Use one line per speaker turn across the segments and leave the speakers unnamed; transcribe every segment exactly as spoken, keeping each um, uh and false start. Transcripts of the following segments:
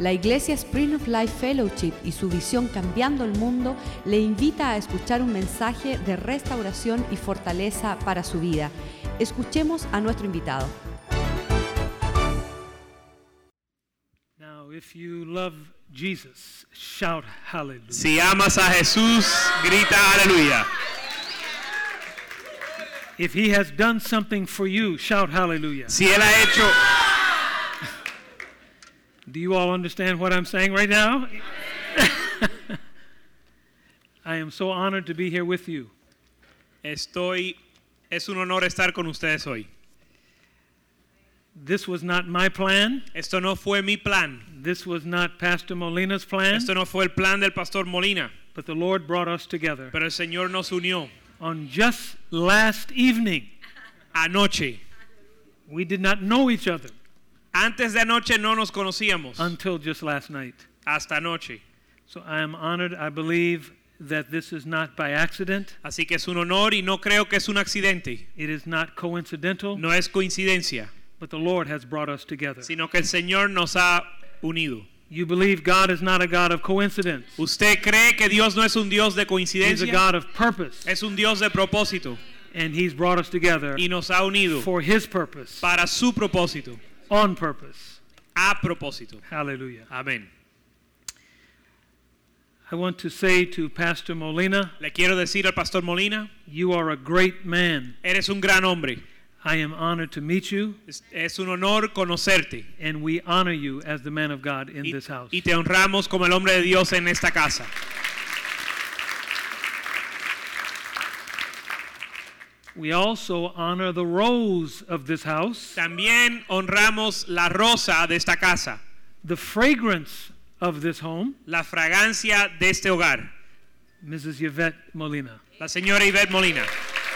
La Iglesia Spring of Life Fellowship y su visión Cambiando el Mundo le invita a escuchar un mensaje de restauración y fortaleza para su vida. Escuchemos a nuestro invitado.
Now, if you love Jesus, shout hallelujah.
Si amas a Jesús, grita aleluya.
If he has done something for you, shout hallelujah.
Si él ha hecho.
Do you all understand what I'm saying right now? I am so honored to be here with you.
Estoy, es un honor estar con ustedes hoy.
This was not my plan.
Esto no fue mi plan.
This was not Pastor Molina's plan.
Esto no fue el plan del Pastor Molina.
But the Lord brought us together.
Pero el Señor nos unió.
On just last evening.
Anoche.
We did not know each other.
Antes de anoche no nos conocíamos.
Until just last night.
Hasta anoche.
So I am honored. I believe that this is not by accident.
Así que es un honor y no creo que es un accidente.
It is not coincidental.
No es coincidencia.
But the Lord has brought us together.
Sino que el Señor nos ha unido.
You believe God is not a God of coincidence.
Usted cree que Dios no es un Dios de coincidencia.
He's a God of purpose.
Es un Dios de propósito.
And He's brought us together.
Y nos ha unido.
For His purpose.
Para su propósito.
On purpose.
A propósito.
Hallelujah.
Amén.
I want to say to Pastor Molina.
Le quiero decir al Pastor Molina.
You are a great man.
Eres un gran hombre.
I am honored to meet you.
Es, es un honor conocerte.
And we honor you as the man of God in
y,
this house.
Y te honramos como el hombre de Dios en esta casa.
We also honor the rose of this house.
También honramos la rosa de esta casa.
The fragrance of this home.
La fragancia de este hogar.
Missus Yvette Molina.
La señora Yvette Molina.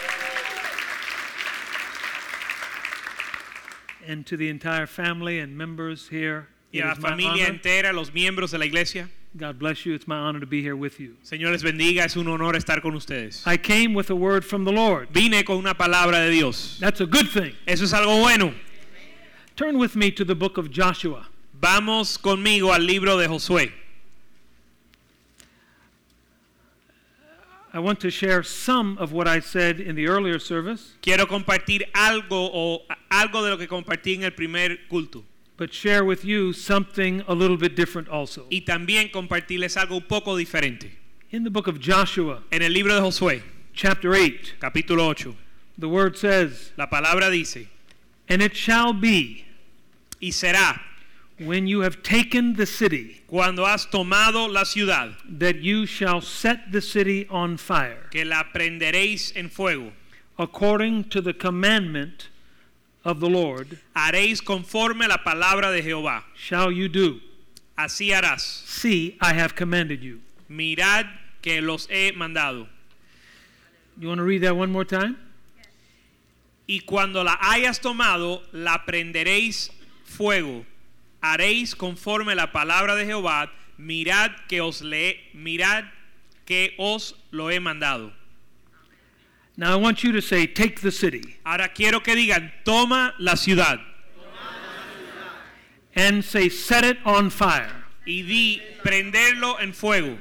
And to the entire family and members here.
Y a la familia entera, los miembros de la iglesia.
God bless you. It's my honor to be here with you.
Señor les bendiga, es un honor estar con ustedes.
I came with a word from the Lord.
Vine con una palabra de Dios.
That's a good thing.
Eso es algo bueno.
Turn with me to the book of Joshua.
Vamos conmigo al libro de Josué.
I want to share some of what I said in the earlier service.
Quiero compartir algo o algo de lo que compartí en el primer culto.
But share with you something a little bit different also.
Y también compartirles algo un poco diferente.
In the book of Joshua,
en el libro de Josué,
chapter eight,
capítulo ocho,
the word says,
la palabra dice,
and it shall be,
y será,
when you have taken the city,
cuando has tomado la ciudad,
that you shall set the city on fire,
que la prenderéis en fuego,
according to the commandment of the Lord,
haréis conforme la palabra de Jehová.
Shall you do?
Así harás.
See, I have commanded you.
Mirad que los he mandado.
You want to read that one more time?
Yes. Y cuando la hayas tomado, la prenderéis fuego. Haréis conforme la palabra de Jehová. Mirad que os le, mirad que os lo he mandado.
Now I want you to say, take the city.
Ahora quiero que digan, toma la ciudad.
And say, set it on fire.
Y di, prenderlo en fuego.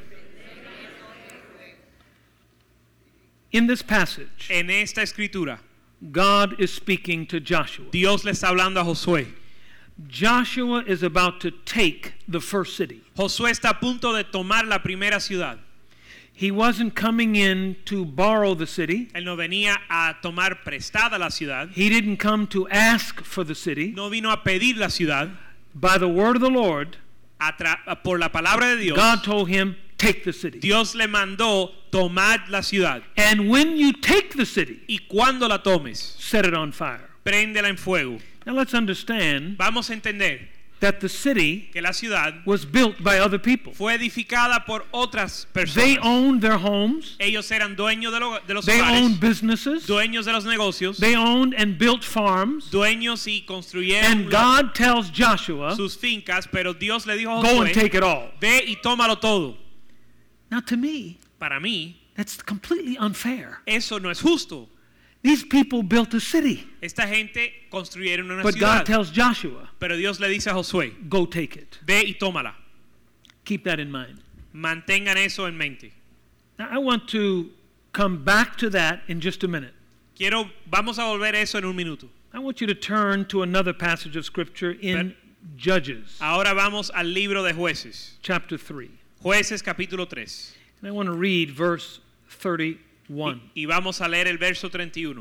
In this passage,
en esta escritura,
God is speaking to Joshua.
Dios le está hablando a Josué.
Joshua is about to take the first city.
Josué está a punto de tomar la primera ciudad.
He wasn't coming in to borrow the city.
Él no venía a tomar prestada la ciudad.
He didn't come to ask for the city.
No vino a pedir la ciudad.
By the word of the Lord,
tra- por la palabra de Dios,
God told him, take the city.
Dios le mandó tomar la ciudad.
And when you take the city,
y cuando la tomes,
set it on fire.
Préndela en fuego.
Now let's understand.
Vamos a entender
that the city
que la ciudad
was built by other people.
Fue edificada por otras personas.
They owned their homes.
Ellos eran dueños de, lo, de los
they
hogares.
They owned businesses.
Dueños de los negocios.
They owned and built farms.
Dueños y construyeron
and God tells Joshua,
sus fincas, pero Dios le dijo a
Josué, go and take it all.
Ve y tómalo todo.
Now to me,
para mí,
that's completely unfair.
Eso no es justo.
These people built a city.
Esta gente construyeron una
But
ciudad.
God tells Joshua,
Pero Dios le dice a Josué,
go take it.
ve y tómala.
Keep that in mind.
Mantengan eso en mente.
Now, I want to come back to that in just a minute.
Quiero, vamos a volver a eso en un minuto.
I want you to turn to another passage of Scripture in Judges,
Ahora vamos al libro de Jueces.
chapter three.
Jueces capítulo tres.
And I want to read verse thirty-one.
Y, y vamos a leer el verso treinta y uno.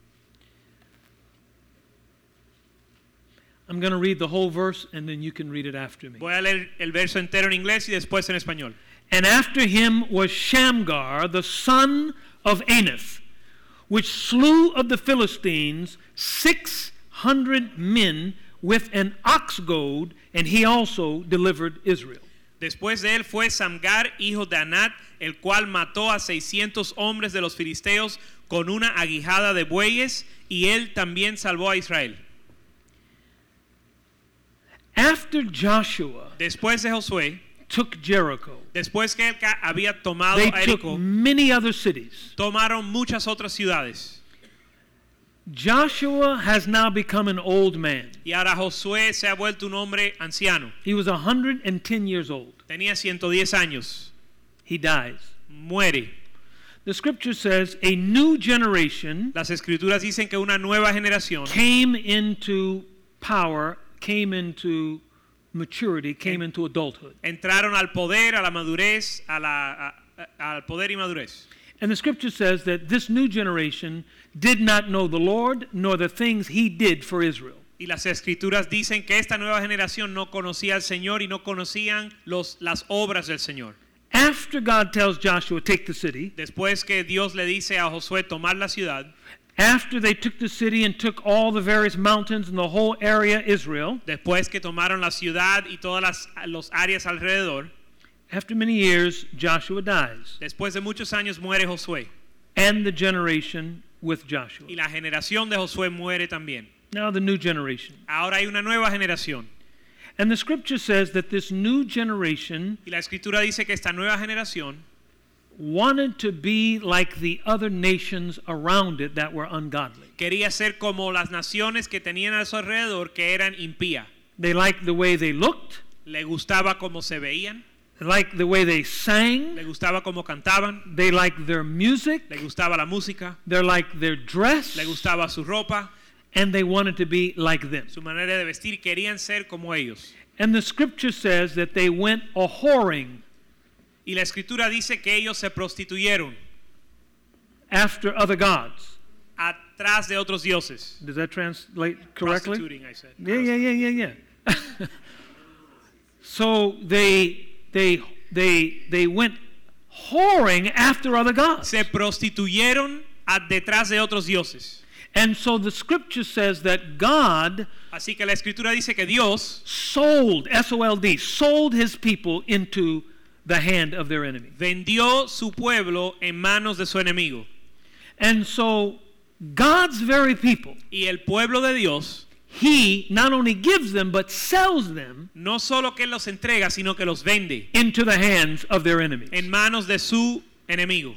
I'm going to read the whole verse, and then you can read it after me.
Voy a leer el verso entero en inglés y después en español.
And after him was Shamgar, the son of Anath, which slew of the Philistines six hundred men with an ox goad, and he also delivered Israel.
Después de él fue Samgar, hijo de Anat, el cual mató a seiscientos hombres de los filisteos con una aguijada de bueyes, y él también salvó a Israel.
After Joshua
Después de Josué,
took Jericho,
después que él ca- había tomado
they
a
took
Jericó,
many other cities.
tomaron muchas otras ciudades.
Joshua has now become an old man.
Y ahora Josué se ha vuelto un hombre anciano.
He was one hundred ten years old.
Tenía ciento diez años.
He dies.
Muere.
The scripture says a new generation
Las escrituras dicen que una nueva generación
came into power, came into maturity, came into adulthood.
entraron al poder, a la madurez, a la, a- a- al poder y madurez.
And the scripture says that this new generation did not know the Lord nor the things he did for Israel.
Y las escrituras dicen que esta nueva generación no conocía al Señor y no conocían los, las obras del Señor.
After God tells Joshua, take the city,
Después que Dios le dice a Josué tomar la ciudad,
after they took the city and took all the various mountains and the whole area Israel,
después que tomaron la ciudad y todas las los áreas alrededor,
after many years, Joshua dies.
después de muchos años muere Josué.
And the generation with Joshua.
Y la generación de Josué muere también.
Now the new generation.
Ahora hay una nueva generación.
And the scripture says that this new generation
Y la escritura dice que esta nueva generación
wanted to be like the other nations around it that were ungodly.
quería ser como las naciones que tenían a su alrededor que eran impías.
They liked the way they looked,
Le gustaba cómo se veían,
they liked the way they
le
sang,
gustaba cómo cantaban,
they liked their music,
le gustaba la música,
they liked their dress,
le gustaba su ropa,
and they wanted to be like them.
su manera de vestir, querían ser como ellos.
And the scripture says that they went a whoring
Y la escritura dice que ellos se prostituyeron
after other gods.
atrás de otros dioses.
Does that translate correctly?
Prostituting, I said.
Yeah, yeah, yeah, yeah, yeah. So they they they they went whoring after other gods.
Se prostituyeron a- detrás de otros dioses.
And so the scripture says that God
Así que la escritura dice que Dios
sold, S O L D, sold his people into the hand of their enemy.
vendió su pueblo en manos de su enemigo.
And so God's very people,
Y el pueblo de Dios
he not only gives them but sells them
no solo que los entrega, sino que los vende
into the hands of their enemies.
en manos de su enemigo.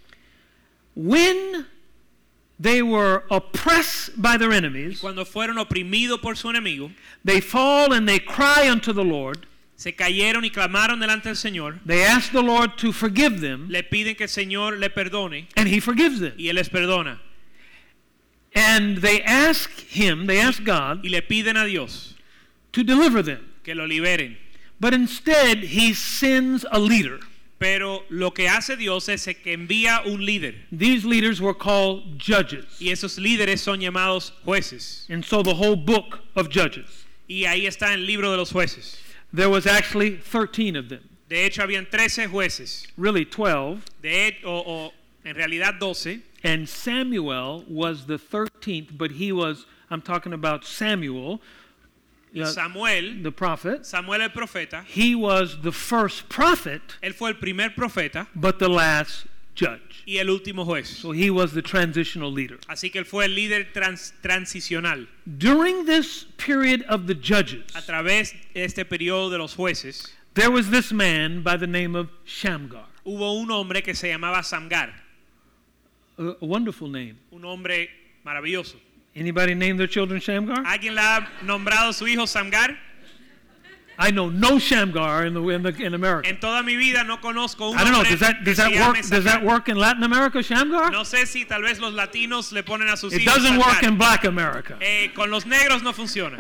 When they were oppressed by their enemies,
Cuando fueron oprimidos por su enemigo,
they fall and they cry unto the Lord.
se cayeron y clamaron delante del Señor,
They ask the Lord to forgive them,
le piden que el Señor le perdone
and he forgives them.
y Él les perdona.
And they ask him, they ask God
Y le piden a Dios
to deliver them.
que lo liberen.
But instead, he sends a leader.
Pero lo que hace Dios es que envía un líder.
These leaders were called judges.
Y esos líderes son llamados jueces.
And so the whole book of Judges.
Y ahí está el libro de los jueces.
There was actually thirteen of them.
De hecho, habían trece jueces.
Really twelve.
De, o, o en realidad doce.
And Samuel was the thirteenth, but he was, I'm talking about Samuel, uh,
Samuel,
the prophet.
Samuel el profeta,
He was the first prophet,
él fue el primer profeta
but the last judge.
y el último juez.
So he was the transitional leader.
Así que él fue el líder trans, transicional.
During this period of the judges,
A través de este periodo de los jueces,
there was this man by the name of Shamgar.
hubo un hombre que se llamaba Samgar,
A, a wonderful name.
un hombre Maravilloso.
Anybody name their children Shamgar?
¿Alguien le ha nombrado su hijo Samgar?
I know no Shamgar in the in, the, in America.
En toda mi vida no conozco un
I don't know.
hombre
Does that
que
does
se
that
llame
work? Does that
Samgar.
work in Latin America, Shamgar?
No sé si tal vez los latinos le ponen a sus
It
hijos
doesn't work
Samgar.
in Black America.
Eh, con los negros no funciona.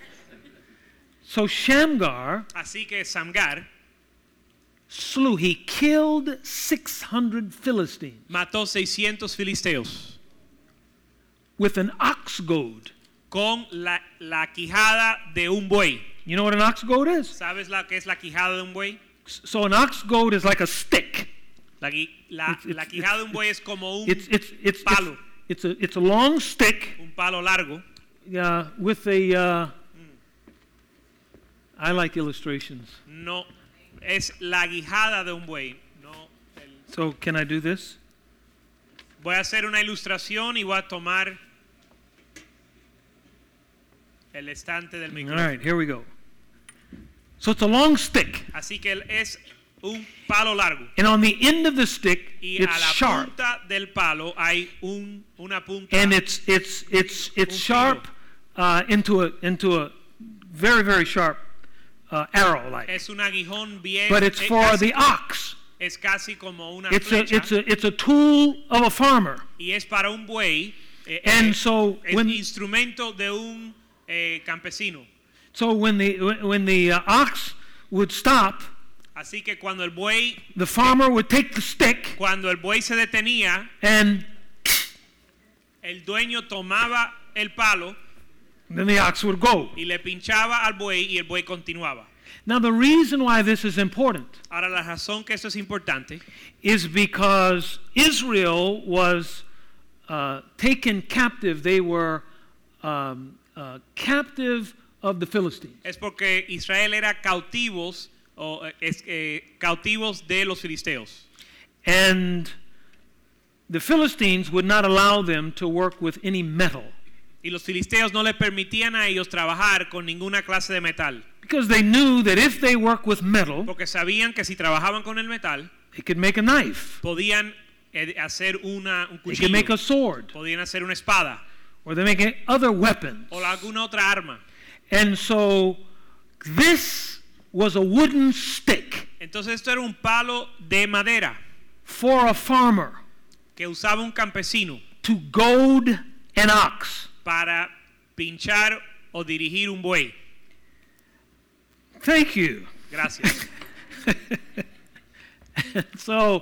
So Shamgar
Así que Samgar
slew. He killed six hundred Philistines
mató seiscientos filisteos
with an ox goad.
con la, la quijada de un buey.
You know what an ox goad is?
¿Sabes la que es la quijada de un buey?
So an ox goad is like a stick.
La, gui- la,
It's- it's-
la quijada de un buey es como un
It's it's it's
palo,
it's, it's a it's a long stick
un palo largo.
uh, with a. Uh, I like illustrations.
No, es la guijada de un buey. No, el-
So can I do this?
Voy a hacer una ilustración y voy a tomar el estante del
All
micrófono.
right, here we go. So it's a long stick,
Así que es un palo largo.
and on the end of the stick,
Y
it's
a la
sharp,
punta del palo hay un, una punta.
and it's it's it's it's
Un
sharp uh, into a into a very very sharp uh, arrow like.
Es un aguijón bien.
But it's
es
for
casi-
the ox.
Es casi como una
It's a
flecha.
it's a it's a tool of a farmer.
Y es para un buey. eh,
And
eh,
so
es
when-
instrumento de un eh, campesino.
So when the when the uh, ox would stop,
Así que cuando el buey,
the farmer would take the stick
cuando el buey se detenía,
and
el dueño tomaba el palo
then the ox would go.
y le pinchaba al buey y el buey continuaba.
Now the reason why this is important
Ahora la razón que esto es importante
is because Israel was uh, taken captive. They were um, uh, captive of the Philistines.
es porque Israel era cautivos o eh, es, eh, cautivos de los filisteos.
And the Philistines would not allow them to work with any metal
Y los filisteos no le permitían a ellos trabajar con ninguna clase de metal,
because they knew that if they work with metal,
porque sabían que si trabajaban con el metal
they could make a knife,
podían eh, hacer una, un
they could make
cuchillo,
a sword,
podían hacer una espada
or they make other weapons.
o alguna otra arma.
And so this was a wooden stick
Entonces esto era un palo de madera
for a farmer
que usaba un campesino
to goad an ox.
para pinchar o dirigir un buey.
Thank you.
Gracias.
So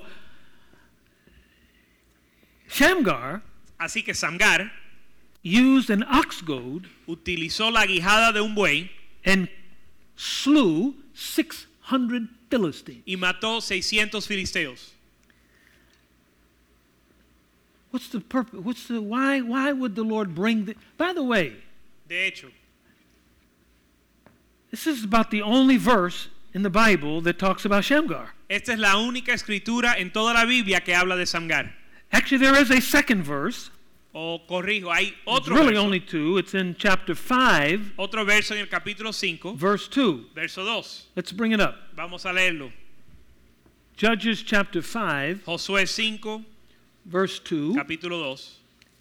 Shamgar
Así que Samgar
used an ox goad
utilizó la guijada de un buey
and slew six hundred Philistines.
y mató seiscientos filisteos.
What's the purpose? What's the why? Why would the Lord bring the? By the way,
De hecho,
this is about the only verse in the Bible that talks about Shamgar.
esta es la única escritura en toda la Biblia que habla de Samgar.
Actually, there is a second verse.
O corrijo, hay
It's
otro
really
verso,
only two. It's in chapter five,
otro verso en el capítulo cinco,
verse two.
verso dos.
Let's bring it up.
Vamos a leerlo.
Judges chapter five,
Josué cinco,
verse two.
capítulo dos.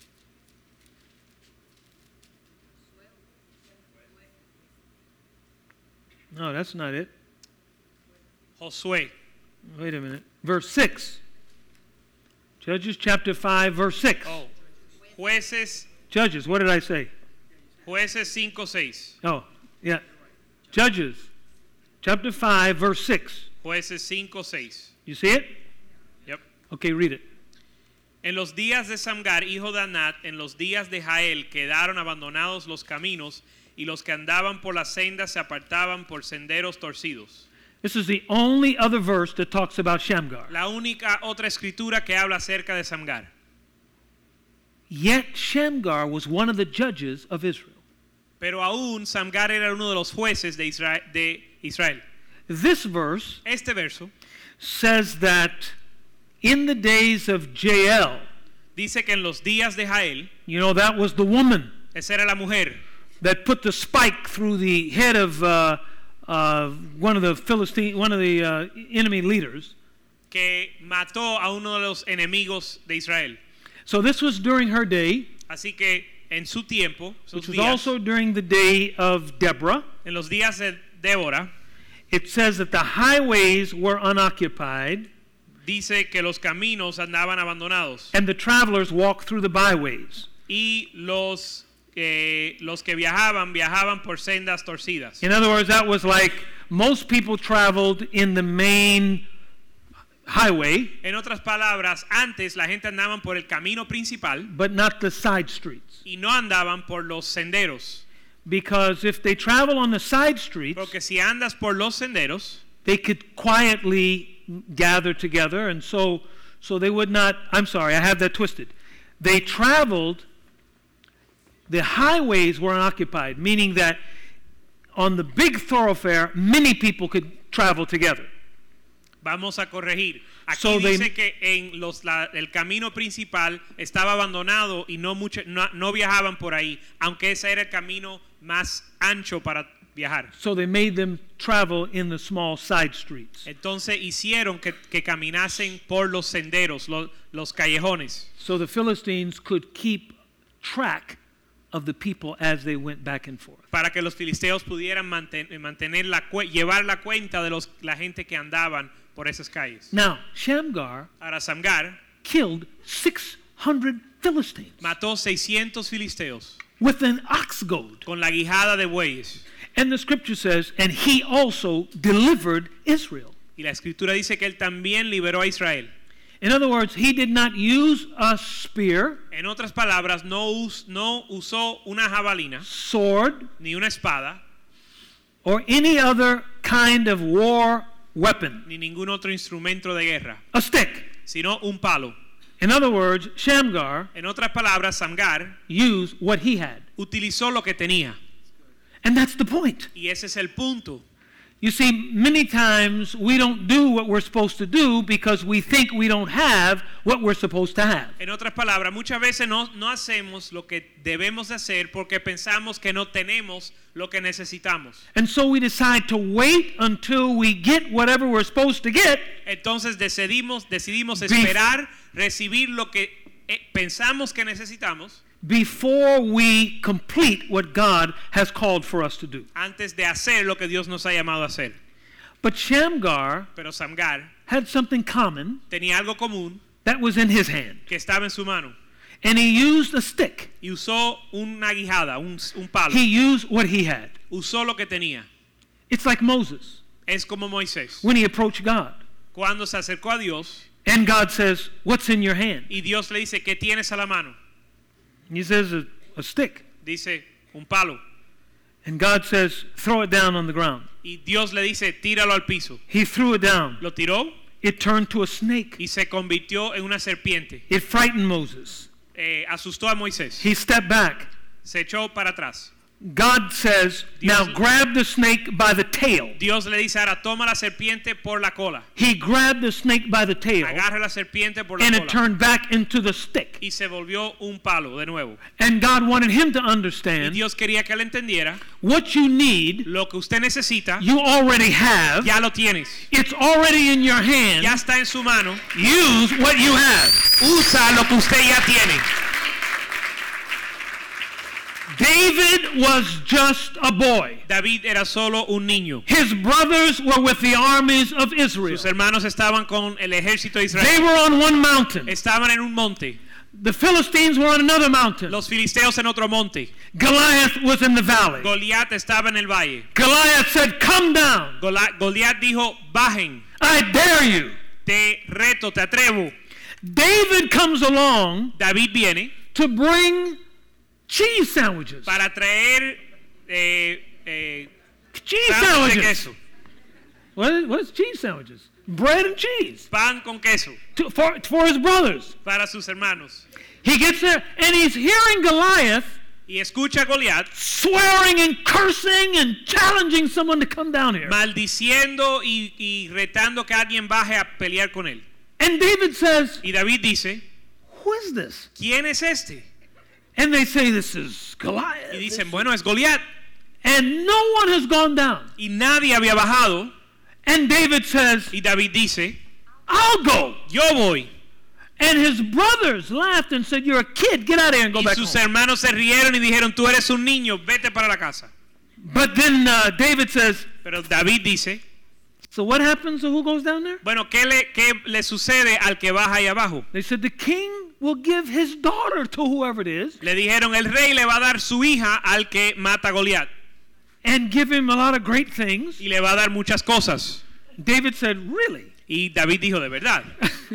No, that's not it.
Josué,
Wait a minute. Verse six. Judges chapter five, verse six.
oh, Jueces,
Judges, what did I say?
Jueces cinco, seis.
Oh, yeah. Judges chapter five, verse six.
Jueces cinco, seis.
You see it?
Yep.
Okay, read it.
En los días de Samgar, hijo de Anat, en los días de Jael, quedaron abandonados los caminos, y los que andaban por las sendas se apartaban por senderos torcidos.
This is the only other verse that talks about Shamgar.
La única otra escritura que habla acerca de Samgar.
Yet Shamgar was one of the judges of Israel.
Pero aún Samgar era uno de los jueces de Israel. De Israel.
This verse
Este verso
says that in the days of Jael,
dice que en los días de Jael,
you know, that was the woman
esa era la mujer
that put the spike through the head of uh, uh, one of the Philistine, one of the uh, enemy leaders.
que mató a uno de los enemigos de Israel.
So this was during her day,
Así que en su tiempo, sus
which was
días,
also during the day of Deborah,
en los días de Débora,
it says that the highways were unoccupied
dice que los caminos andaban abandonados
and the travelers walked through the byways.
y los eh, los que viajaban viajaban por sendas torcidas.
In other words, that was like most people traveled in the main highway,
En otras palabras, antes la gente andaban por el camino principal
but not the side streets.
y no andaban por los senderos,
Because if they travel on the side streets,
porque si andas por los senderos,
they could quietly gather together, and so so they would not, I'm sorry, I have that twisted. They traveled, the highways were unoccupied, meaning that on the big thoroughfare, many people could travel together.
vamos a corregir. Aquí
So they-
dice que en los, la, el camino principal estaba abandonado y no, mucho, no, no viajaban por ahí, aunque ese era el camino más ancho para viajar.
So they made them travel in the small side streets.
Entonces hicieron que, que caminasen por los senderos, los, los callejones,
So the Philistines could keep track of the people as they went back and forth.
para que los filisteos pudieran manten, mantener la cue- llevar la cuenta de los, la gente que andaban por esas calles.
Now, Shamgar
Ahora Samgar
killed six hundred Philistines
mató seiscientos filisteos
with an ox goad.
con la guijada de bueyes.
And the scripture says, and he also delivered Israel.
Y la escritura dice que él también liberó a Israel.
In other words, he did not use a spear,
En otras palabras, no, us, no usó una jabalina
sword,
ni una espada
or any other kind of war weapon.
ni ningún otro instrumento de guerra,
A stick.
sino un palo.
In other words, Shamgar
En otras palabras, Samgar
used what he had.
utilizó lo que tenía.
And that's the point.
Y ese es el punto.
You see, many times we don't do what we're supposed to do because we think we don't have what we're supposed to have.
En otras palabras, muchas veces no, no hacemos lo que debemos de hacer porque pensamos que no tenemos lo que necesitamos.
And so we decide to wait until we get whatever we're supposed to get
Entonces decidimos, decidimos
Bef-
esperar recibir lo que eh, pensamos que necesitamos
before we complete what God has called for us to do.
antes de hacer lo que Dios nos ha llamado a hacer.
But Shamgar
Pero Samgar
had something common
tenía algo común
that was in his hand.
que estaba en su mano
And he used a stick.
y usó una guijada, un, un palo.
He used what he had.
Usó lo que tenía.
It's like Moses
Es como Moisés.
when he approached God.
Cuando se acercó a Dios
And God says, "What's in your hand?"
y Dios le dice, ¿qué tienes a la mano?
He says, a, a stick.
Dice, un palo.
And God says, "Throw it down on the ground."
Y Dios le dice, tíralo al piso.
He threw it down.
Lo tiró
It turned to a snake.
y se convirtió en una serpiente.
It frightened Moses.
Eh, asustó a Moisés.
He stepped back.
Se echó para atrás.
God says, "Now
Dios-
grab the snake by the tail."
Dios le dice, ahora toma la serpiente por la cola.
He grabbed the snake by the tail,
Agarra la serpiente por la
and it
cola.
turned back into the stick.
Y se volvió un palo de nuevo.
And God wanted him to
Y
understand
Dios quería que él entendiera,
what you need,
lo que usted necesita,
you already have.
ya lo tienes.
It's already in your hand.
Ya está en su mano.
Use what you have.
Usa lo que usted ya tiene.
David was just a boy.
David era solo un niño.
His brothers were with the armies of Israel.
Sus hermanos estaban con el ejército de
They
Israel.
were on one mountain.
Estaban en un monte.
The Philistines were on another mountain.
Los filisteos en otro monte.
Goliath was in the valley.
Goliat estaba en el valle.
Goliath said, "Come down.
Gola- Goliat dijo, bajen,
I dare you."
te reto, te atrevo.
David comes along
David viene
to bring cheese sandwiches.
para traer eh, eh,
Cheese
pan de
sandwiches.
queso,
What is, what is cheese sandwiches? Bread and cheese
pan con queso
to, for, for his brothers.
para sus hermanos.
He gets there and he's hearing Goliath
Y escucha a Goliat
swearing and cursing and challenging someone to come down here.
maldiciendo y, y retando que alguien baje a pelear con él.
And David says,
Y David dice,
"Who is this?"
¿quién es este?
And they say, "This is Goliath."
Y dicen, bueno, es Goliat.
And no one has gone down.
Y nadie había bajado.
And David says,
Y David dice,
"I'll go."
yo voy.
And his brothers laughed and said, "You're a kid. Get out of here and go
Y
back
sus
home."
hermanos se rieron y dijeron, tú eres un niño, vete para la casa.
But then uh, David says,
Pero David dice,
"So what happens to who goes down there?"
bueno, ¿qué le, qué le sucede al que baja ahí abajo?
They said, "The king will give his daughter to whoever it is
Le dijeron, el rey le va a dar su hija al que mata a Goliat
and give him a lot of great things."
y le va a dar muchas cosas.
David said, "Really?"
Y David dijo, de verdad.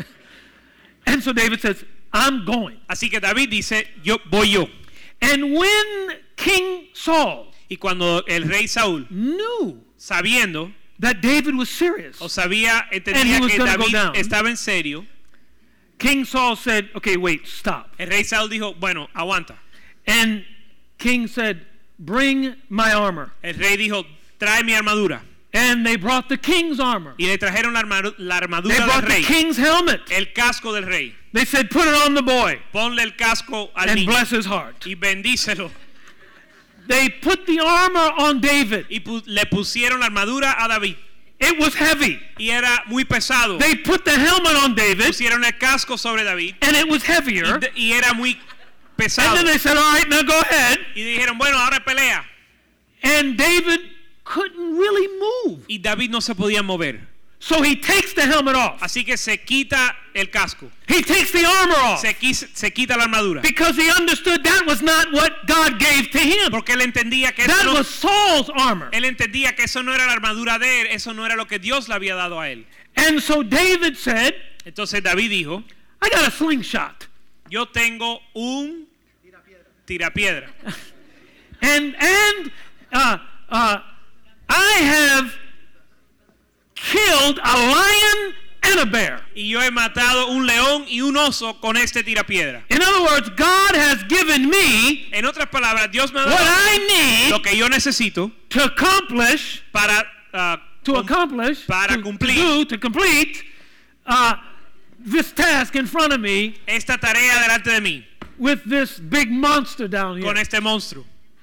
And so David says, "I'm going."
Así que David dice, yo voy yo.
And when King Saul
Y cuando el rey Saúl,
knew
sabiendo
that David was serious,
o sabía,
And he
entendía
was
que
gonna go
David
down.
estaba en serio,
King Saul said, "Okay, wait, stop."
el rey Saúl dijo, bueno, aguanta.
And King said, "Bring my armor."
El rey dijo, trae mi armadura.
And they brought the king's armor.
Y le trajeron la, armaru- la
They
armadura del
brought the
rey,
king's helmet.
el casco del rey.
They said, "Put it on the boy
Ponle el casco al
and
niño
bless his heart."
y bendícelo.
They put the armor on David.
Y pu- le pusieron la armadura a David.
It was heavy.
Y era muy pesado.
They put the helmet on David,
Pusieron el casco sobre David.
and it was
Y,
heavier.
de- y era muy
And
pesado.
then they said, "All right, now go ahead."
Y dijeron, bueno, ahora pelea.
And David couldn't really move.
Y David no se podía mover.
So he takes the helmet off.
Así que se quita el casco.
He takes the armor off
Se, quis- se quita la armadura.
because he understood that was not what God gave to him.
Porque él entendía que eso
That
no,
was Saul's armor.
él entendía que eso no era la armadura de él, eso no era lo que Dios le había dado a él.
And so David said,
Entonces David dijo,
"I got a slingshot."
yo tengo un tirapiedra.
And and uh, uh, I have killed a lion and a bear.
Y yo he matado un león y un oso con este tirapiedra.
In other words, God has given me
En otras palabras, Dios me ha
what
dado
I
lo
need
que yo necesito
to accomplish,
para, uh,
to
com-
accomplish,
para
to,
cumplir.
to do, to complete uh, this task in front of me
esta tarea delante de mí
with this big monster down here.
con este monstruo.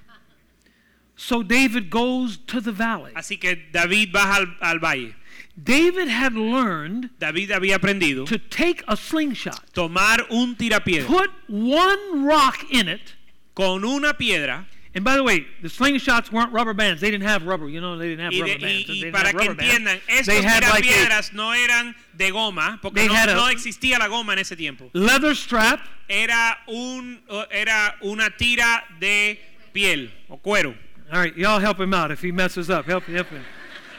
So David goes to the valley.
Así que David baja al, al valle.
David had learned
David había aprendido
to take a slingshot,
tomar un tirapiedra
put one rock in it.
con una piedra.
And by the way, the slingshots weren't rubber bands. They didn't have rubber. You know, they didn't have
Y,
rubber
de-
bands.
y- y
They didn't
para
have
que
rubber bands.
entiendan, estos
They had like a
tirapiedras no eran de goma, porque
They
no,
had a-
no existía la goma en ese tiempo.
leather strap,
Era, un, era una tira de piel o cuero.
all right, y'all help him out if he messes up. Help, help him.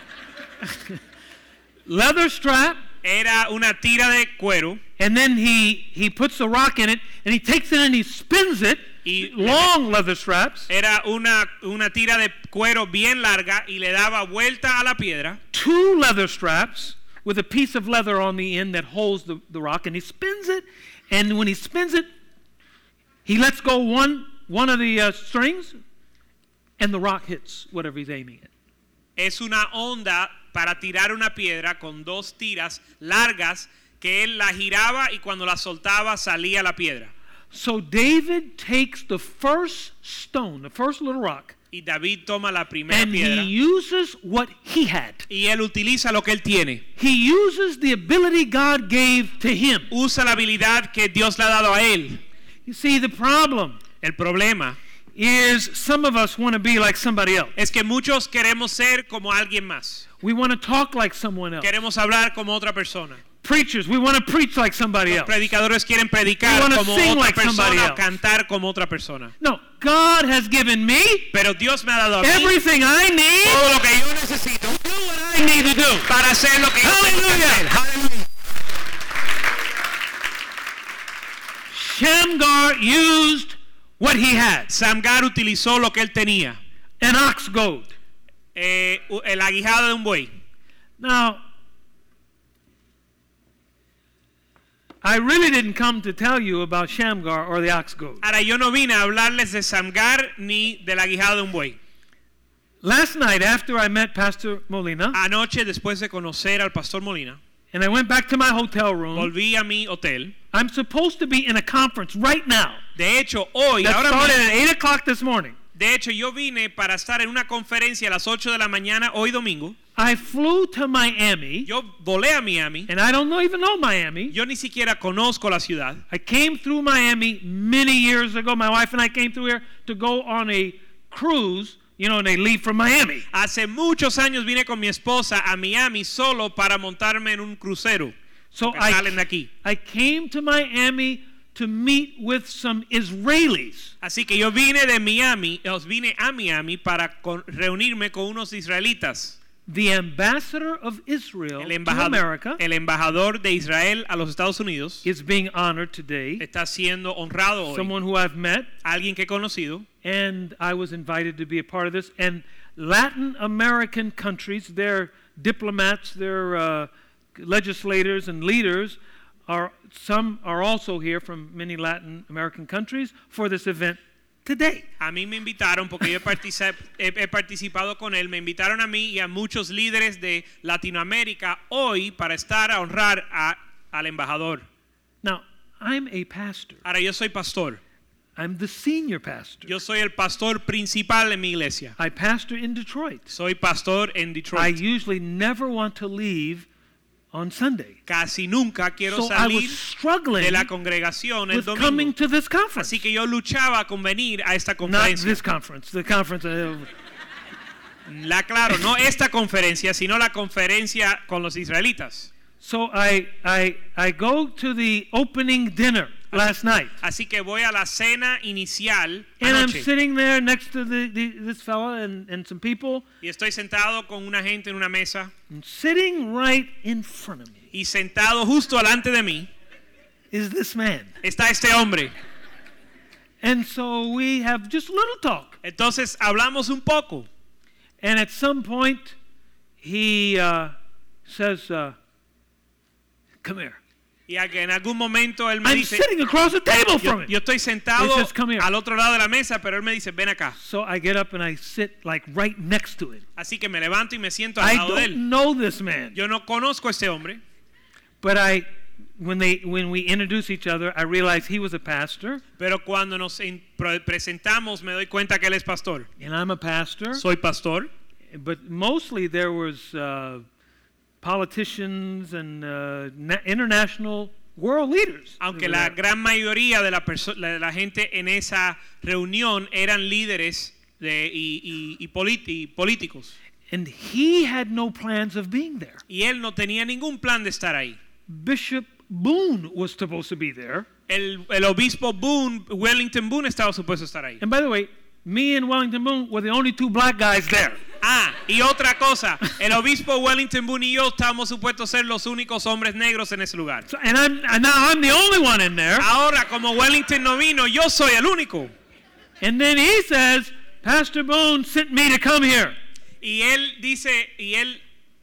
Leather strap,
Era una tira de cuero.
and then he he puts the rock in it, and he takes it and he spins it.
Y-
long leather straps,
Era una, una tira de cuero bien larga y le daba vuelta a la piedra.
two leather straps with a piece of leather on the end that holds the, the rock, and he spins it. And when he spins it, he lets go one one of the uh, strings, and the rock hits whatever he's aiming at.
Es una onda para tirar una piedra con dos tiras largas que él la giraba y cuando la soltaba salía la piedra.
So David takes the first stone, the first little rock,
Y David toma la primera
and he
piedra
uses what he had.
y él utiliza lo que él tiene.
He uses the ability God gave to him.
Usa la habilidad que Dios le ha dado a él.
You see, the problem
El problema
is some of us want to be like somebody else.
es que muchos queremos ser como alguien más.
We want to talk like someone else.
Queremos hablar como otra persona.
Preachers, we want to preach like somebody
Los
else.
predicadores quieren
We
predicar
wanna
como
sing
otra
like somebody
persona o
else.
cantar como otra persona.
No, God has given me
Pero Dios me ha dado a mí
everything I need
todo lo que yo necesito
to do what I need to do.
para hacer lo que yo tengo que hacer.
Hallelujah. Shamgar used what he had,
Samgar utilizó lo que él tenía,
an ox goad.
eh, el aguijado de un buey.
Now, I really didn't come to tell you about Shamgar or the ox goad.
Ahora yo no vine a hablarles de Samgar ni del aguijado de un buey.
Last night, after I met Pastor Molina,
Anoche, después de conocer al pastor Molina,
and I went back to my hotel room,
volví a mi hotel.
I'm supposed to be in a conference right now
De hecho, hoy,
that
ahora
started
mismo,
at eight o'clock this morning.
De hecho, yo vine para estar en una conferencia a las ocho de la mañana hoy domingo.
I flew to Miami.
Yo volé a Miami.
And I don't know, even know Miami.
Yo ni siquiera conozco la ciudad.
I came through Miami many years ago. My wife and I came through here to go on a cruise, you know, and they leave from Miami.
Hace muchos años vine con mi esposa a Miami solo para montarme en un crucero.
So
que
I,
salen de aquí.
I came to Miami to meet with some Israelis.
Así que yo vine de Miami, os vine a Miami para con, reunirme con unos israelitas.
The ambassador of Israel
El
to
embajador,
America
el embajador de Israel a los Estados Unidos
is being honored today.
está siendo honrado hoy.
Someone who I've met,
Alguien que he conocido.
and I was invited to be a part of this. And Latin American countries, their diplomats, their uh, legislators and leaders, are some are also here from many Latin American countries for this event today.
A mí me invitaron porque yo particip, he, he participado con él. Me invitaron a mí y a muchos líderes de Latinoamérica hoy para estar a honrar a, al embajador.
Now, I'm a pastor.
Ahora yo soy pastor.
I'm the senior pastor.
Yo soy el pastor principal en mi iglesia.
I pastor in Detroit.
Soy pastor en
I
Detroit.
usually never want to leave on Sunday.
Casi nunca quiero
So I was
salir
struggling
de la congregación el
with coming
domingo.
to this conference.
Así que yo luchaba con venir a esta
Not
conferencia.
this conference, the conference. Uh,
La claro, no esta conferencia, sino la conferencia con los israelitas.
so I, I, I go to the opening dinner last night.
Así que voy a la cena inicial
And I'm
anoche.
sitting there next to the, the, this fella and, and some people.
Y estoy sentado con una gente en una mesa.
And sitting right in front of me
Y sentado justo delante de mí
is this man.
está este hombre.
And so we have just a little talk.
Entonces hablamos un poco.
And at some point, he uh, says, uh, come here.
Y a que en algún momento él me
I'm
dice,
sitting across the table
yo,
from him.
yo estoy sentado
He says, "Come here."
al otro lado de la mesa, pero él me dice, ven acá.
So I get up and I sit like right next to him.
Así que me levanto y me siento al
I
lado de él.
don't know this man.
Yo no conozco a este hombre,
But I, when they, when we introduce each other, I realize he was a pastor
pero cuando nos in- pre- presentamos me doy cuenta que él es pastor.
and I'm a pastor.
Soy pastor,
But mostly there was uh, politicians and uh, na- international world leaders.
aunque la gran mayoría de la, perso- de la gente en esa reunión eran líderes de, y, y, y politi- y políticos.
And he had no plans of being there.
Y él no tenía ningún plan de estar ahí.
Bishop Boone was supposed to be there.
El, el obispo Boone, Wellington Boone, estaba supuesto estar ahí.
And by the way, me and Wellington Boone were the only two black guys there.
Ah, y otra cosa, el obispo Wellington Boone y yo estábamos supuestos ser los únicos hombres negros en ese lugar.
So, and I'm and now I'm the only one in there.
Ahora, como Wellington no vino, yo soy el único.
And then he says, Pastor Boone sent me to come here.
Y él dice, y él,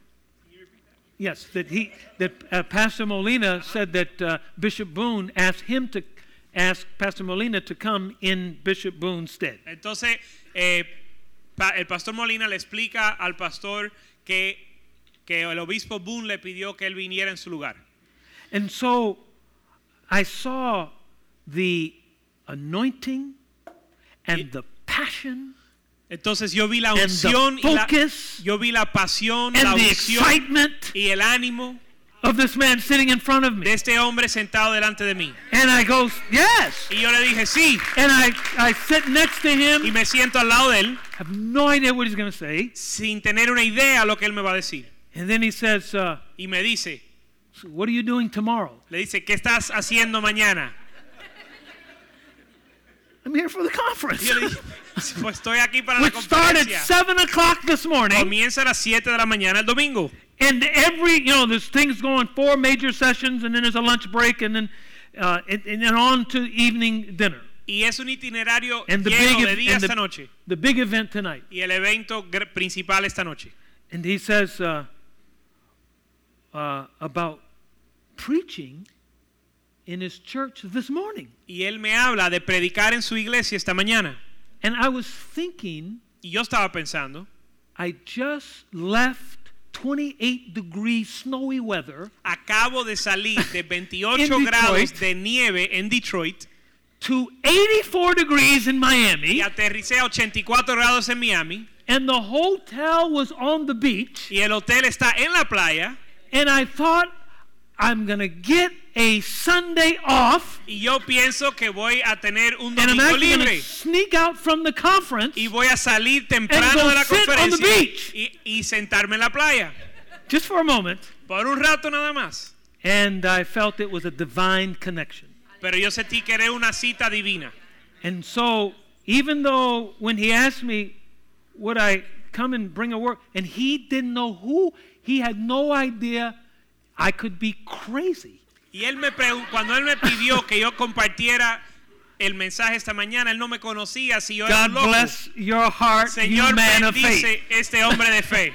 Yes, that he that uh, Pastor Molina said that uh, Bishop Boone asked him to ask Pastor Molina to come in Bishop Boone's stead.
entonces, eh, pa- el pastor Molina le explica al pastor que, que el obispo Boone le pidió que él viniera en su lugar.
And so I saw the anointing and
Y-
the passion
Entonces yo vi la
and
unción
the
y la,
focus
yo vi la pasión, la
and the
unción
excitement
y el ánimo
of this man sitting in front of
de
me.
este hombre sentado delante de mí.
And I go, yes.
Y yo le dije, sí,
And I, I sit next to
y
him,
me siento al lado de él
have no idea what he's going to say.
sin tener una idea de lo que él me va a decir.
And then he says, uh,
Y me dice,
so what are you doing tomorrow?
le dice, ¿qué estás haciendo mañana?
I'm here for the conference.
Y yo le dije, pues estoy aquí para la
Which started
conferencia.
seven o'clock this morning.
Comienza a las siete de la mañana el domingo.
And every, you know, there's things going, four major sessions, and then there's a lunch break, and then uh, and, and then on to evening dinner.
Y es un itinerario
And the
lleno
big,
de día
and
esta
the,
noche.
the big event tonight.
Y el evento gr- principal esta noche.
And he says uh, uh, about preaching in his church this morning.
Y él me habla de predicar en su iglesia esta mañana.
And I was thinking,
Y yo estaba pensando,
I just left twenty-eight degree snowy weather
acabo de salir de
In
veintiocho
Detroit.
grados de nieve en Detroit
to eighty-four degrees in
y
Miami,
aterricé a ochenta y cuatro grados en Miami,
and the hotel was on the beach,
y el hotel está en la playa,
and I thought, I'm going to get a Sunday off,
y yo pienso que voy a tener un
and I'm
domingo
actually going to
libre,
sneak out from the conference
y voy a salir
and
temprano
go
de la
sit on the
conferencia
beach.
y, y sentarme en la playa,
just for a moment,
por un rato nada más.
and I felt it was a divine connection.
Pero yo sentí que era una cita divina.
And so, even though when he asked me, would I come and bring a word, and he didn't know who, he had no idea I could be crazy.
Y él me pregun- cuando él me pidió que yo compartiera el mensaje esta mañana, él no me conocía si yo era
God
un loco.
bless your heart,
Señor,
you man of
bendice
faith.
este hombre de fe.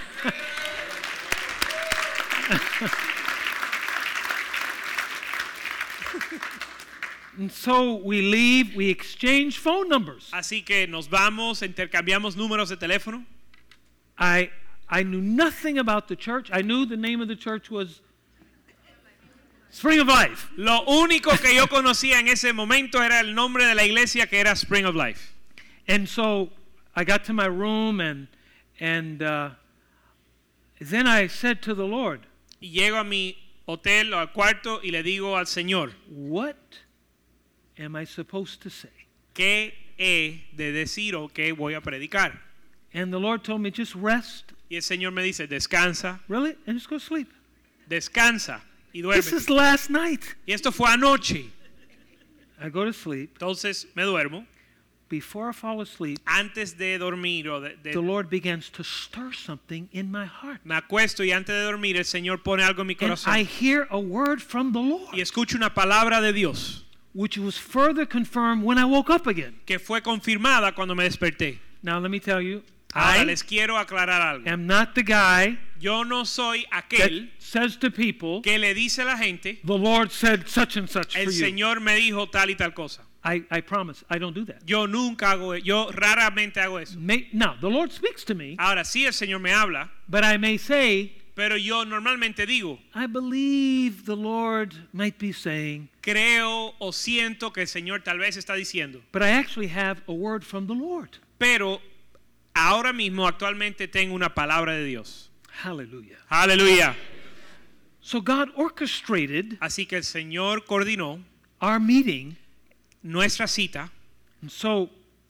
And so we leave, we exchange phone numbers.
Así que nos vamos, intercambiamos números de teléfono.
I I knew nothing about the church. I knew the name of the church was Spring of Life.
Lo único que yo conocía en ese momento era el nombre de la iglesia, que era Spring of Life.
And so I got to my room, and and uh, then I said to the Lord,
Y llego a mi hotel o al cuarto y le digo al Señor,
what am I supposed to say?
¿qué he de decir o qué voy a predicar?
And the Lord told me, just rest.
Y el Señor me dice, descansa,
Really? And just go to sleep.
descansa y
This
duerme.
is last night.
Y esto fue anoche.
I go to sleep.
Entonces me duermo.
Before I fall asleep,
Antes de dormir o de, de-
the Lord begins to stir something in my heart.
me acuesto y antes de dormir el Señor pone algo en mi
And
corazón.
I hear a word from the Lord,
Y escucho una palabra de Dios
which was further confirmed when I woke up again.
que fue confirmada cuando me desperté.
Now, let me tell you,
Ahora
I
les quiero aclarar algo.
am not the guy
Yo no soy
that
aquel
says to people,
que le dice a la gente,
the Lord said such and such for
el
you.
Señor me dijo tal y tal cosa.
I, I promise, I don't do that.
Yo nunca hago, e- yo raramente hago eso.
May, now, the Lord speaks to me,
Ahora sí el Señor me habla,
but I may say,
pero yo normalmente digo,
I believe the Lord might be saying,
creo o siento que el Señor tal vez está diciendo,
but I actually have a word from the Lord.
pero ahora mismo actualmente tengo una palabra de Dios.
Hallelujah.
Aleluya.
So God orchestrated
Así que el Señor coordinó
our meeting.
nuestra cita
And so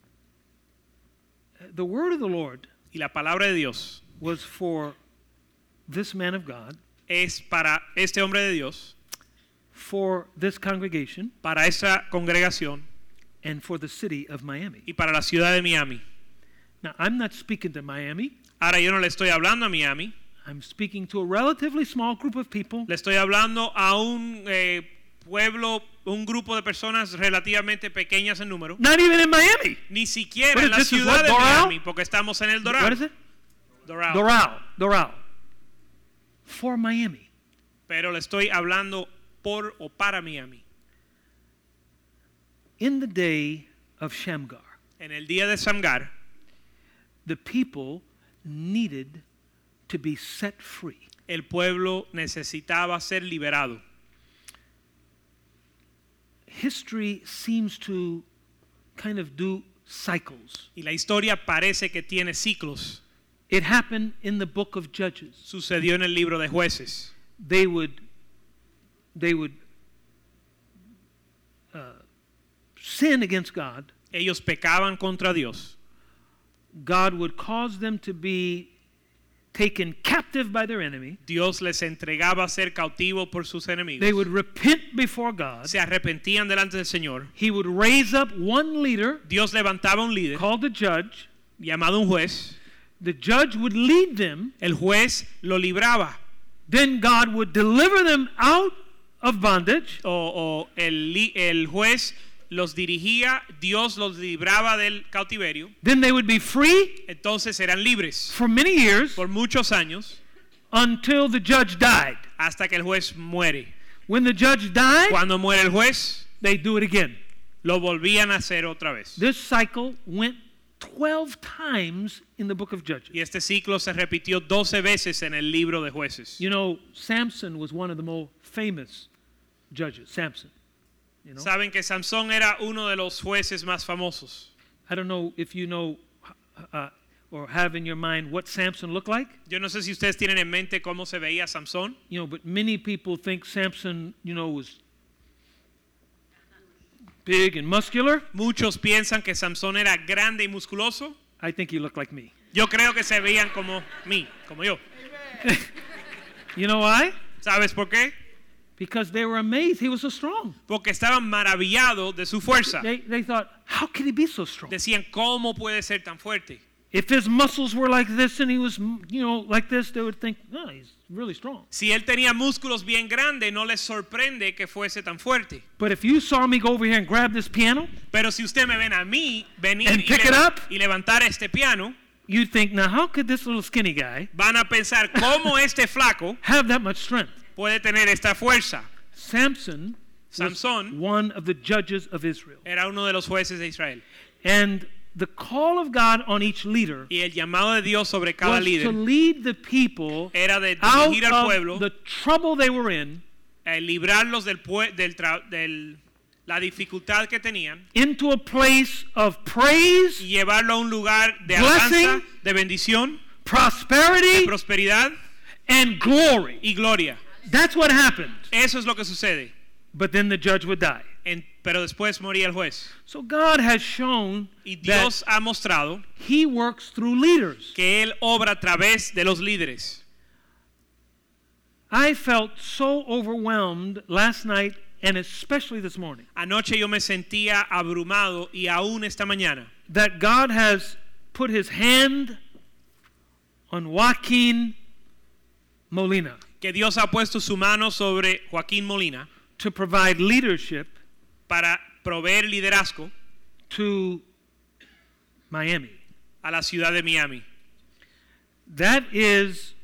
uh, the word of the Lord
y la palabra de Dios
was for this man of God,
es para este hombre de Dios,
for this congregation,
para esta congregación
and for the city of Miami.
y para la ciudad de Miami.
Now, I'm not speaking to Miami.
Ahora yo no le estoy hablando a Miami,
I'm speaking to a relatively small group of people
le estoy hablando a un eh, pueblo, un grupo de personas relativamente pequeñas en número,
not even in Miami.
ni siquiera
What
en
is
la
this, is
ciudad
what,
de
Doral?
Miami, porque estamos en el Doral.
What is it?
Doral.
Doral. Doral. For Miami.
Pero le estoy hablando por o para Miami.
In the day of Shamgar,
En el día de Shamgar,
the people needed to be set free.
el pueblo necesitaba ser liberado.
History seems to kind of do cycles.
Y la historia parece que tiene ciclos.
It happened in the book of Judges.
Sucedió en el libro de Jueces.
They would they would uh, sin against God.
Ellos pecaban contra Dios.
God would cause them to be taken captive by their enemy.
Dios les entregaba a ser cautivo por sus enemigos.
They would repent before God.
Se arrepentían delante del Señor.
He would raise up one leader
Dios levantaba un líder
called the judge.
llamado un juez.
The judge would lead them.
El juez lo libraba.
Then God would deliver them out of bondage.
O, o el, li- el juez los dirigía, Dios los libraba del cautiverio.
Then they would be free
Entonces eran libres
for many years
por muchos años
until the judge died.
hasta que el juez muere.
When the judge died,
Cuando muere el juez,
they do it again.
lo volvían a hacer otra vez.
This cycle went twelve times in the book of Judges.
Y este ciclo se repitió doce veces en el libro de Jueces.
You know, Samson was one of the most famous judges. Samson. You know?
Saben que Samson era uno de los jueces más famosos.
I don't know if you know uh, or have in your mind what Samson looked like.
Yo no sé si ustedes tienen en mente cómo se veía Samson.
You know, but many people think Samson, you know, was big and muscular.
Muchos piensan que Samson era grande y musculoso.
I think he looked like me.
Yo creo que se veían como mí, como yo.
You know why?
¿Sabes por qué?
Because they were amazed he was so strong.
Porque estaban maravillados de su fuerza.
They, they thought, how could he be so strong?
Decían, ¿cómo puede ser tan fuerte?
If his muscles were like this and he was, you know, like this, they would think, oh, he's really strong.
Si él tenía músculos bien grandes, no les sorprende que fuese tan fuerte.
But if you saw me go over here and grab this piano,
Pero si usted me ven a mí venir
And
y,
pick it
leva-
up.
y levantar este piano,
you'd think, now how could this little skinny guy
van a pensar cómo este flaco
have that much strength?
puede tener esta fuerza.
Samson was
Samson
one of the judges of Israel.
Era uno de los jueces de Israel.
And the call of God on each leader
Y el llamado de Dios sobre cada
was to
líder
lead the people
era de
out
dirigir al pueblo,
of the trouble they were in
eh, librarlos del, pue- del, tra- del la dificultad que tenían
into a place of praise,
y llevarlo a un lugar de
Blessing.
alabanza, de bendición, de
prosperity,
prosperidad
and glory.
y gloria.
That's what happened.
Eso es lo que sucede.
But then the judge would die.
En- pero después moría el juez.
So God has shown
Y
that
Dios ha mostrado
he works through leaders.
que Él obra a través de los líderes.
I felt so overwhelmed last night and especially this morning
Anoche yo me sentía abrumado y aún esta mañana
that God has put his hand on Joaquin Molina
que Dios ha puesto su mano sobre Joaquín Molina
to provide leadership
para proveer liderazgo
to Miami.
a la ciudad de Miami.
That is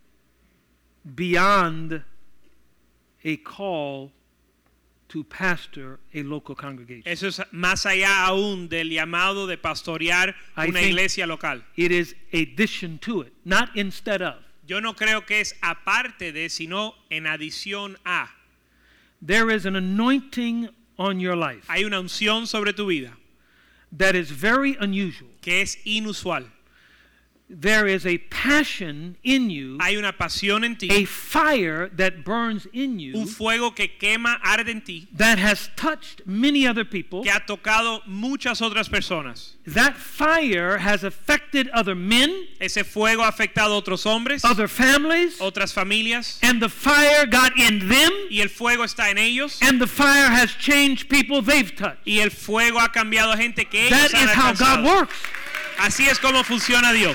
beyond a call to pastor a local congregation.
Eso es más allá aún del llamado de pastorear
I
una
think
iglesia local.
It is addition to it, not instead of.
Yo no creo que es aparte de, sino en adición a.
There is an anointing on your life
Hay una unción sobre tu vida
that is very unusual.
que es inusual.
There is a passion in you,
Hay una pasión en ti,
a fire that burns in
un
you
fuego que quema, arde en ti,
that has touched many other people.
que ha tocado muchas otras personas.
That fire has affected other men,
Ese fuego ha afectado a otros hombres,
other families,
otras familias,
and the fire got in them,
y el fuego está en ellos,
and the fire has changed people they've touched.
y el fuego ha cambiado a gente que ellos
That
han
is how God
alcanzado.
works.
Así es como funciona Dios.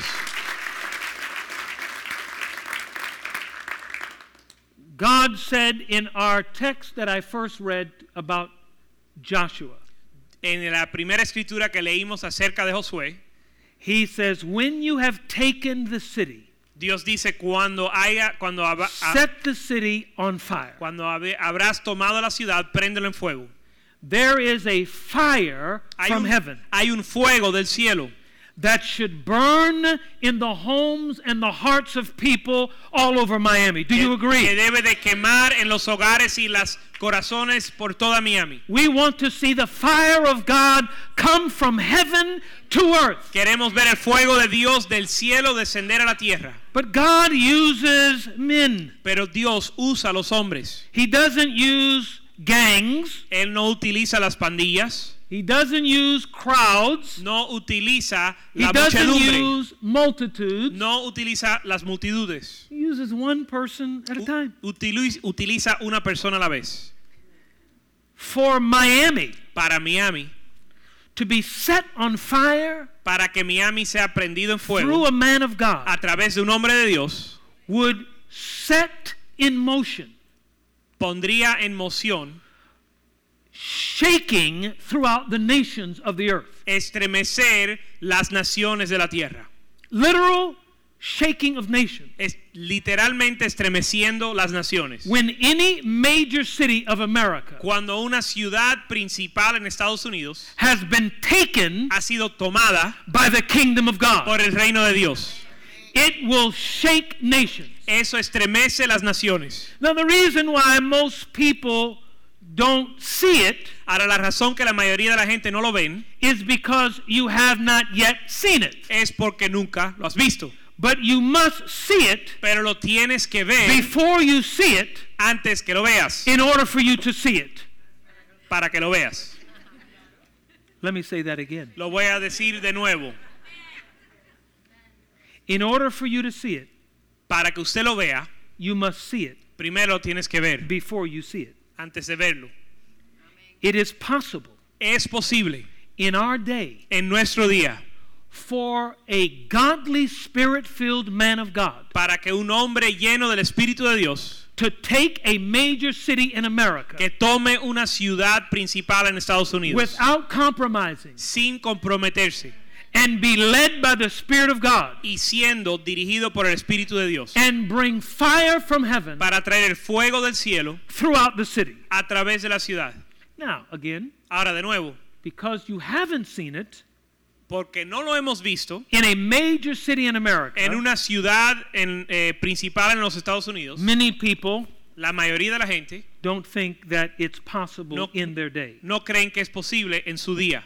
God said in our text that I first read about Joshua,
En la primera escritura que leímos acerca de Josué,
he says, when you have taken the city,
Dios dice cuando haya cuando hab- a-
set the city on fire.
cuando habe- habrás tomado la ciudad, préndelo en fuego.
There is a fire
Hay
from
un,
heaven
hay un fuego del cielo
that should burn in the homes and the hearts of people all over Miami. Do you
que,
agree?
que debe de quemar en los hogares y las corazones por toda Miami.
We want to see the fire of God come from heaven to earth.
Queremos ver el fuego de Dios del cielo descender a la tierra.
But God uses men.
Pero Dios usa a los hombres.
He doesn't use gangs.
Él no utiliza las pandillas,
He doesn't use crowds.
no utiliza
He
la
doesn't
muchedumbre,
use multitudes.
no utiliza las multitudes.
He uses one person at a
U-
time.
utiliza, utiliza una persona a la vez.
For Miami
Para Miami,
to be set on fire
para que Miami sea prendido en
through
fuego
a man of God
a través de un hombre de Dios,
would set in motion,
pondría en moción,
shaking throughout the nations of the earth.
estremecer las naciones de la tierra.
Literal shaking of nations.
Es literalmente estremeciendo las naciones.
When any major city of America
Cuando una ciudad principal en Estados Unidos
has been taken
ha sido tomada
by the kingdom of God,
por el reino de Dios,
it will shake nations.
eso estremece las naciones.
Now, the reason why most people don't see it
Ahora, la razón que la mayoría de la gente no lo ven
is because you have not yet seen it.
es porque nunca lo has visto.
But you must see it
Pero lo tienes que ver
before you see it
antes que lo veas,
in order for you to see it.
para que lo veas.
Let me say that again.
Lo voy a decir de nuevo.
In order for you to see it,
Para que usted lo vea,
you must see it
primero lo tienes que ver
before you see it.
antes de verlo.
It is possible
Es posible
in our day
en nuestro día
for a godly, spirit-filled man of God
para que un hombre lleno del Espíritu de Dios
to take a major city in America
que tome una ciudad principal en Estados Unidos
without compromising
sin comprometerse
and be led by the Spirit of God
y siendo dirigido por el Espíritu de Dios
and bring fire from heaven
para traer el fuego del cielo
throughout the city.
a través de la ciudad.
Now, again,
Ahora de nuevo,
because you haven't seen it
porque no lo hemos visto
in a major city in America,
en una ciudad en, eh, principal en los Estados Unidos,
many people
la mayoría de la gente
don't think that it's possible
No.
in their day.
no creen que es posible en su día.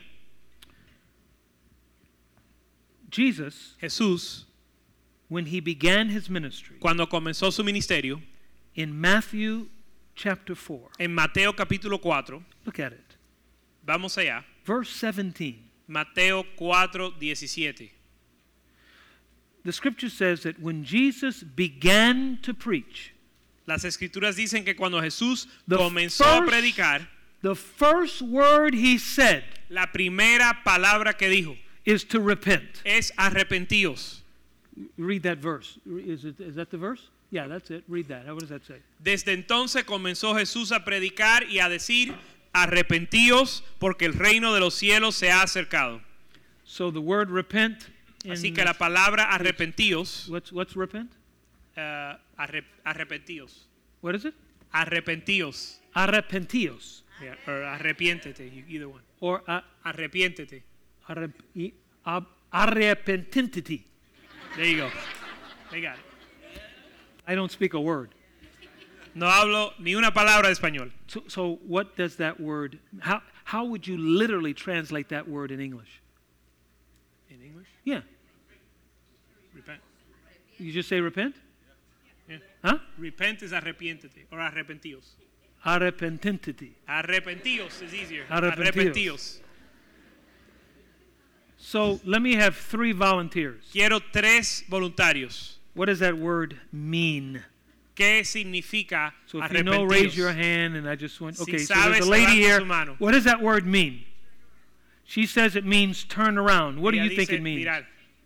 Jesus,
Jesús,
when he began his ministry,
cuando comenzó su ministerio,
in Matthew chapter four,
en Mateo capítulo cuatro,
look at it,
vamos allá,
verse seventeen.
Mateo cuatro diecisiete.
The scripture says that when Jesus began to preach,
Las escrituras dicen que cuando Jesús
The
comenzó a
first-
predicar,
the first word he said
la primera palabra que dijo
is to repent.
es arrepentíos.
Read that verse. Is it is that the verse? Yeah, that's it. Read that. What does that say?
Desde entonces comenzó Jesús a predicar y a decir, arrepentíos porque el reino de los cielos se ha acercado.
So the word repent in,
Así que la palabra arrepentíos,
what's what's repent?
uh, arre- arrepentíos,
What is it?
arrepentíos,
Arrepentios
yeah, or arrepiéntete, either one.
or uh,
Arrepiéntete.
arrep, i- ab, arrepentintity.
There you go. They got it.
I don't speak a word.
No hablo ni una palabra de español.
So, so what does that word? How how would you literally translate that word in English?
In English?
Yeah,
Repent.
you just say repent.
Yeah.
Huh?
Repent is arrepiéntete or arrepentíos.
Arrepentintity.
Arrepentíos is easier.
Arrepentíos.
Arrepentíos.
So let me have three volunteers.
Quiero tres voluntarios.
What does that word mean?
¿Qué significa
So if you know, raise
arrepentíos?
your hand, and I just want.
Si
Okay, so
sabes,
there's a lady
levanta
here.
su mano.
What does that word mean? She says it means turn around. What do
Ella
you think
dice,
it means?
mirar,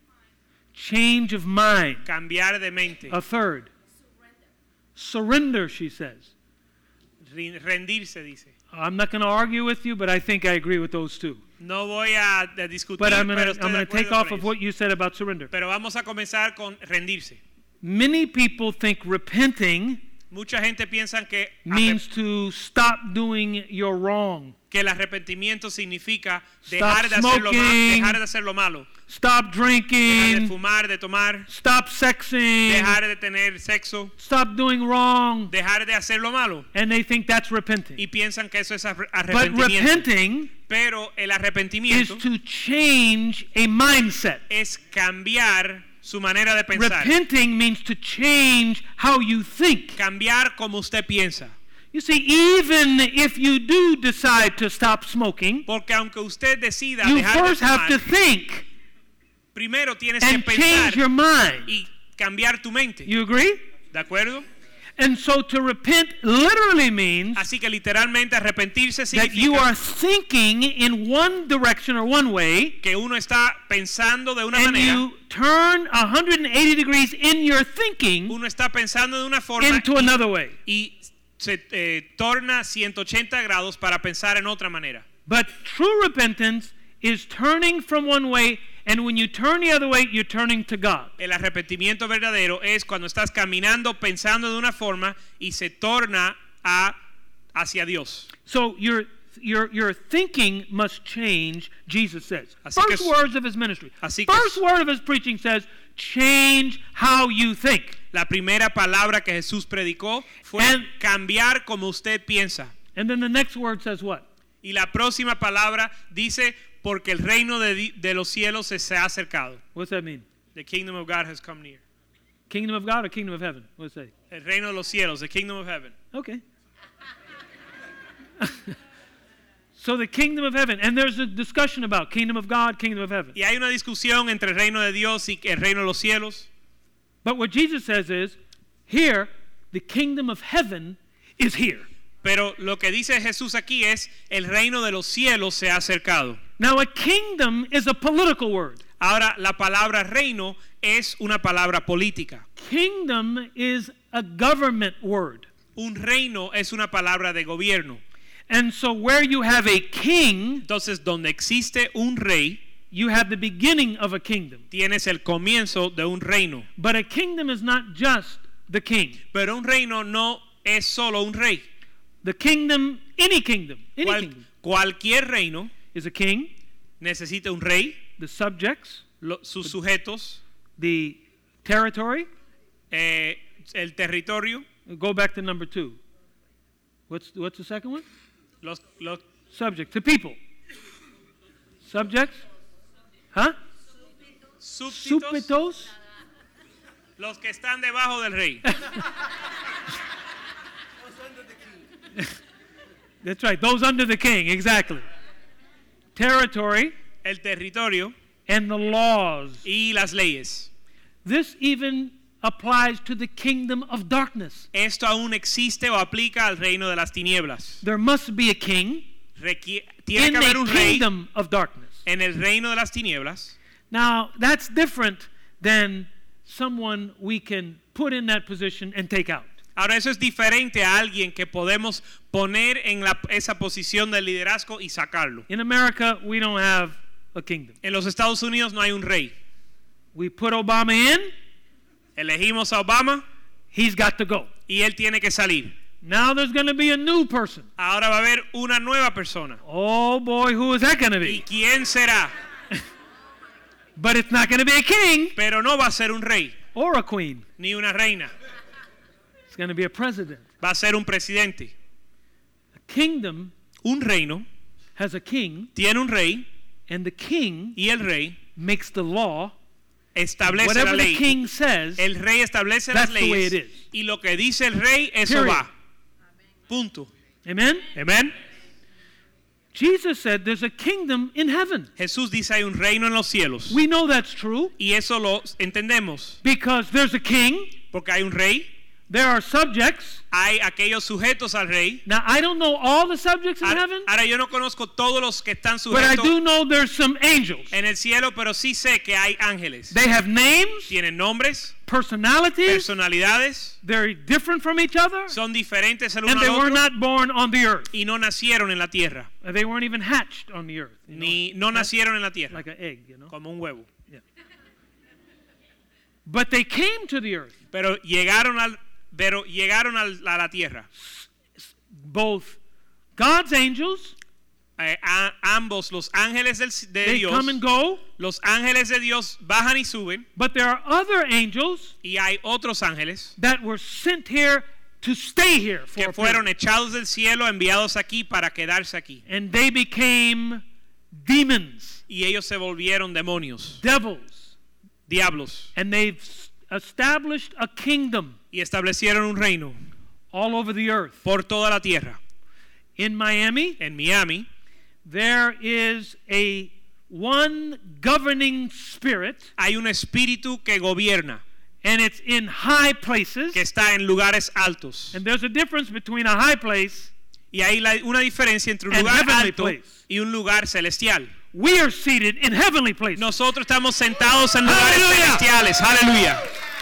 Change of mind.
cambiar de mente,
A third. Surrender, she says.
rin- rendirse, dice.
I'm not going to argue with you, but I think I agree with those two.
No voy a a discutir,
But I'm going
pero
to
estoy
I'm
de
going to take
acuerdo
off
con
of
ellos.
what you said about surrender.
Pero vamos a comenzar con rendirse.
Many people think repenting
Mucha gente piensa que,
means to stop doing your wrong.
que el arrepentimiento significa
Stop
dejar de, hacer lo ma-
smoking.
dejar de hacer lo malo,
Stop
dejar de
drinking.
fumar, de tomar,
Stop sexing.
dejar de tener sexo,
Stop doing wrong.
dejar de hacer lo malo.
And they think that's repenting.
Y piensan que eso es arre-
But
arrepentimiento.
repenting
Pero el
is
arrepentimiento
to change a mindset.
es cambiar su manera de pensar.
Repenting means to change how you think.
Cambiar como usted piensa.
You see, even if you do decide to stop smoking,
Porque aunque usted decida
you
dejar de
first have to
fumar,
think
primero tienes que
and
pensar
change your mind.
y cambiar tu mente.
You agree?
¿De acuerdo?
And so to repent literally means
Así que literalmente arrepentirse
that you are
significa
thinking in one direction or one way,
que uno está pensando de una
and
manera,
you turn one hundred eighty degrees in your thinking
uno está pensando de una forma
into
y,
another way.
y se eh, torna ciento ochenta grados para pensar en otra manera.
But true repentance is turning from one way, and when you turn the other way, you're turning to God.
El arrepentimiento verdadero es cuando estás caminando pensando de una forma y se torna a, hacia Dios.
So your your your thinking must change, Jesus says.
Así que
First
s-
words of his ministry.
así que
First
s-
word of his preaching says, change how you think.
La primera palabra que Jesús predicó fue
And-
cambiar como usted piensa.
And then the next word says what?
Y la próxima palabra dice, porque el reino de, de los cielos se, se ha acercado.
What's that mean?
The kingdom of God has come near.
Kingdom of God or kingdom of heaven? What's that?
El reino de los cielos, the kingdom of heaven.
Okay. So the kingdom of heaven, and there's a discussion about kingdom of God, kingdom of heaven.
Y hay una discusión entre el reino de Dios y el reino de los cielos.
But what Jesus says is, here, the kingdom of heaven is here.
Pero lo que dice Jesús aquí es, el reino de los cielos se ha acercado.
Now a kingdom is a political word.
Ahora, la palabra reino es una palabra política.
Kingdom is a government word.
Un reino es una palabra de gobierno.
And so where you have a king,
Entonces, donde existe un rey,
you have the beginning of a kingdom.
tienes el comienzo de un reino.
But a kingdom is not just the king.
Pero un reino no es solo un rey.
The kingdom, any kingdom, any
Cual-
kingdom
cualquier reino
is a king,
necesita un rey,
the subjects,
lo- sus sujetos,
the territory.
eh, el territorio,
Go back to number two. What's, what's the second one?
los, los
Subject, the people. Subjects? Huh?
súbditos,
Súbditos?
los que están debajo del rey.
That's right, those under the king, exactly. Territory
El territorio
and the laws.
y las leyes.
This even applies to the kingdom of darkness.
Esto aún existe o aplica al reino de las tinieblas.
There must be a king
Requi- tiene
in
que haber
the
un rey
kingdom of darkness.
en el reino de las tinieblas.
Now, that's different than someone we can put in that position and take out.
Ahora, eso es diferente a alguien que podemos poner en la- esa posición de liderazgo y sacarlo.
In America, we don't have a kingdom.
En los Estados Unidos no hay un rey.
We put Obama in,
Elegimos a Obama
he's got to go.
y él tiene que salir.
Now there's going to be a new person.
Ahora va a haber una nueva persona.
Oh boy, who is that going to
¿Y
be?
quién será?
But it's not going to be a king
Pero no va a ser un rey
or a queen.
ni una reina.
It's going to be a president.
Va a ser un presidente.
A kingdom
Un reino
has a king,
tiene un rey
and the king
y el rey
makes the law.
establece la
Whatever the
ley.
king says,
El rey establece las
That's the way
leyes
it is.
y lo que dice el rey, eso
Period.
va. Punto.
amen?
Amén.
Jesus said there's a kingdom in heaven.
Jesús dice hay un reino en los cielos.
We know that's true
Y eso lo entendemos.
because there's a king,
Porque hay un rey,
there are subjects.
hay aquellos sujetos al rey.
Now, I don't know all the subjects in
Ahora,
heaven,
ahora yo no conozco todos los que están
but I
sujetos
do know there's some angels.
en el cielo, pero sí sé que hay ángeles.
They have names,
Tienen nombres,
personalities,
personalidades,
they're different from each other,
son diferentes el uno
and they
al
were
otro
not born on the earth.
y no nacieron en la tierra,
They weren't even hatched on the earth. you know,
ni no nacieron en la tierra,
like an egg, you know.
como un huevo.
But they came to the earth.
Pero llegaron al, pero llegaron al- a la tierra.
Both God's angels,
Eh, a- ambos los ángeles del, de
they
Dios,
come and go,
los ángeles de Dios bajan y suben,
but there are other angels
y hay otros ángeles
that were sent here to stay here for
que
a
fueron
period.
echados del cielo, enviados aquí para quedarse aquí.
And they became demons,
Y ellos se volvieron demonios,
devils,
diablos,
and they've s- established a kingdom
y establecieron un reino
all over the earth.
por toda la tierra.
In Miami,
En Miami
there is a one governing spirit,
hay un espíritu que gobierna,
and it's in high places.
que está en lugares altos.
And there's a difference between a high place.
Y hay la- una diferencia entre un
And
lugar
heavenly
alto
place.
y un lugar celestial.
We are seated in heavenly places.
Nosotros estamos sentados en lugares
Aleluya.
celestiales. Aleluya.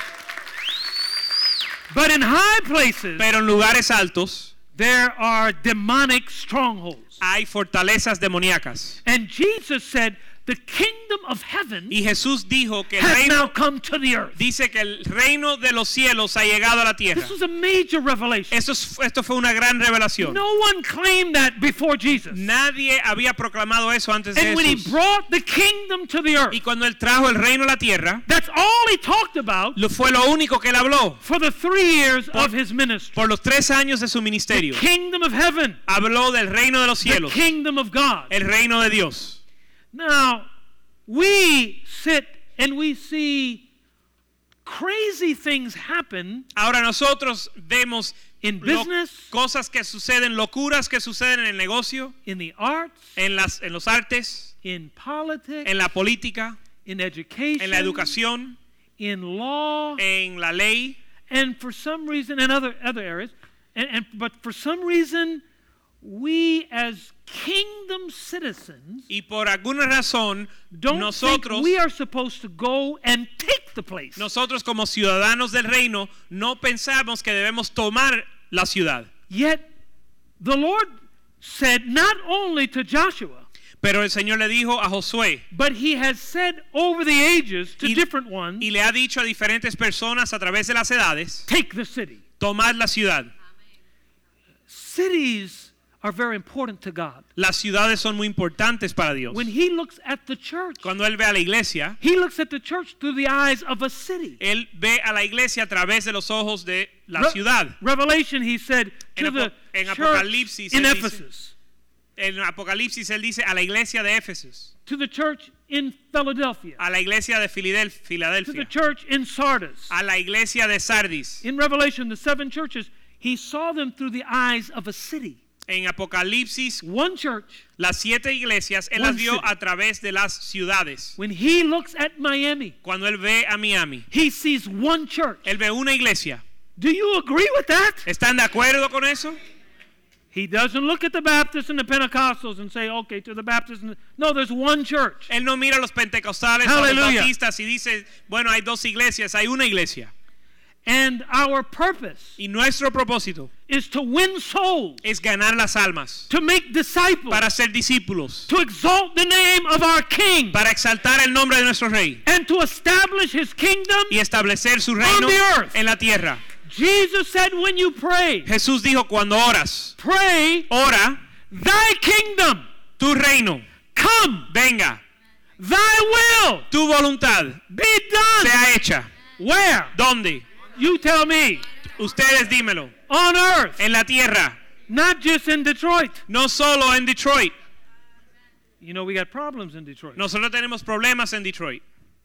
But in high places,
Pero en lugares altos
there are demonic strongholds.
hay fortalezas demoníacas.
And Jesus said the kingdom of heaven
Y Jesús dijo que el
has now
reino,
come to the earth.
dice que el reino de los cielos ha llegado a la tierra.
This was a major revelation.
Esto, es- esto fue una gran revelación.
No one claimed that before Jesus.
Nadie había proclamado eso antes de
And when he
Jesús.
brought the kingdom to the earth,
Y cuando él trajo el reino a la tierra,
that's all he talked about
lo fue lo único que él habló
for the three years of his ministry.
por los tres años de su ministerio.
Kingdom of heaven,
Habló del reino de los
the
cielos,
kingdom of God.
el reino de Dios.
Now, we sit and we see crazy things happen
Ahora nosotros vemos
in
lo-
business,
cosas que suceden, locuras que suceden en el negocio,
in the arts,
en las en los artes,
in politics,
en la política,
in education,
en la educación,
in law,
en la ley,
and for some reason, in other other areas, and, and but for some reason, we as kingdom citizens
y por alguna razón
don't
nosotros
think we are supposed to go and take the place.
nosotros como ciudadanos del reino no pensamos que debemos tomar la ciudad.
Yet the Lord said not only to Joshua,
Pero el Señor le dijo a Josué
but he has said over the ages to
y,
different ones,
y le ha dicho a diferentes personas a través de las edades,
take the city.
tomad la ciudad.
Cities are very important to God.
Las ciudades son muy importantes para Dios.
When he looks at the church,
Cuando él ve a la iglesia,
he looks at the church through the eyes of a city.
él ve a la iglesia a través de los ojos de la
Re-
ciudad.
Revelation, he said to
En
the
Apo- en
church
Apocalipsis,
in
él dice-
Ephesus,
En Apocalipsis él dice a la iglesia de Éfeso,
to the church in Philadelphia,
a la iglesia de Fidel-
to the
Filadelfia,
church in Sardis.
a la iglesia de Sardis.
In Revelation, the seven churches, he saw them through the eyes of a city.
En Apocalipsis,
One church.
las siete iglesias él
One
las vio
city.
a través de las ciudades.
When he looks at Miami,
Cuando él ve a Miami,
he sees one church.
él ve una iglesia.
Do you agree with that?
¿Están de acuerdo con eso?
He doesn't look at the Baptists and the Pentecostals and say, okay, to the Baptists. And the... No, there's one church.
Él no mira a los pentecostales o a los
Hallelujah.
bautistas y dice, bueno, hay dos iglesias, hay una iglesia.
And our purpose
Y nuestro propósito
is to win souls,
es ganar las almas,
to make disciples,
para ser discípulos,
to exalt the name of our King,
para exaltar el nombre de nuestro Rey
and to establish his kingdom.
y establecer su reino
On the earth.
en la tierra.
Jesus said, when you pray,
Jesús dijo, cuando oras,
pray,
ora,
thy kingdom
tu reino,
come,
venga,
thy will
tu voluntad
be done.
sea hecha.
Where?
¿Dónde?
You tell me.
Ustedes dímelo.
On earth,
En la tierra,
not just in Detroit.
no solo en Detroit.
You know, we got problems in Detroit.
Nosotros tenemos problemas en Detroit.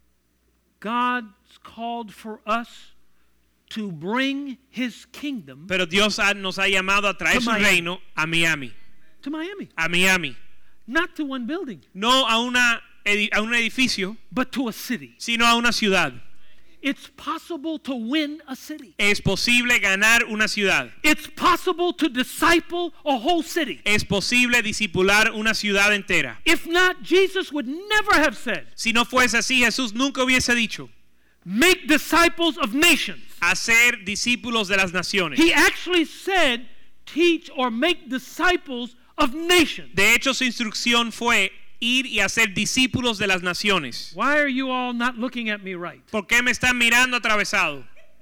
God's called for us to bring his kingdom
Pero Dios ha- nos ha llamado a traer
To
su
Miami.
reino a Miami.
to Miami.
A Miami.
Not to one building,
No a, una, edi- a un edificio,
but to a city.
sino a una ciudad.
It's possible to win a city.
Es posible ganar una ciudad.
It's possible to disciple a whole city.
Es posible discipular una ciudad entera.
If not, Jesus would never have said,
Si no fuese así, Jesús nunca hubiese dicho,
make disciples of nations.
hacer discípulos de las naciones.
He actually said, teach or make disciples of nations.
De hecho, su instrucción fue ir y hacer discípulos de las naciones.
Why are you all not looking at me right?
¿Por qué me están mirando atravesado?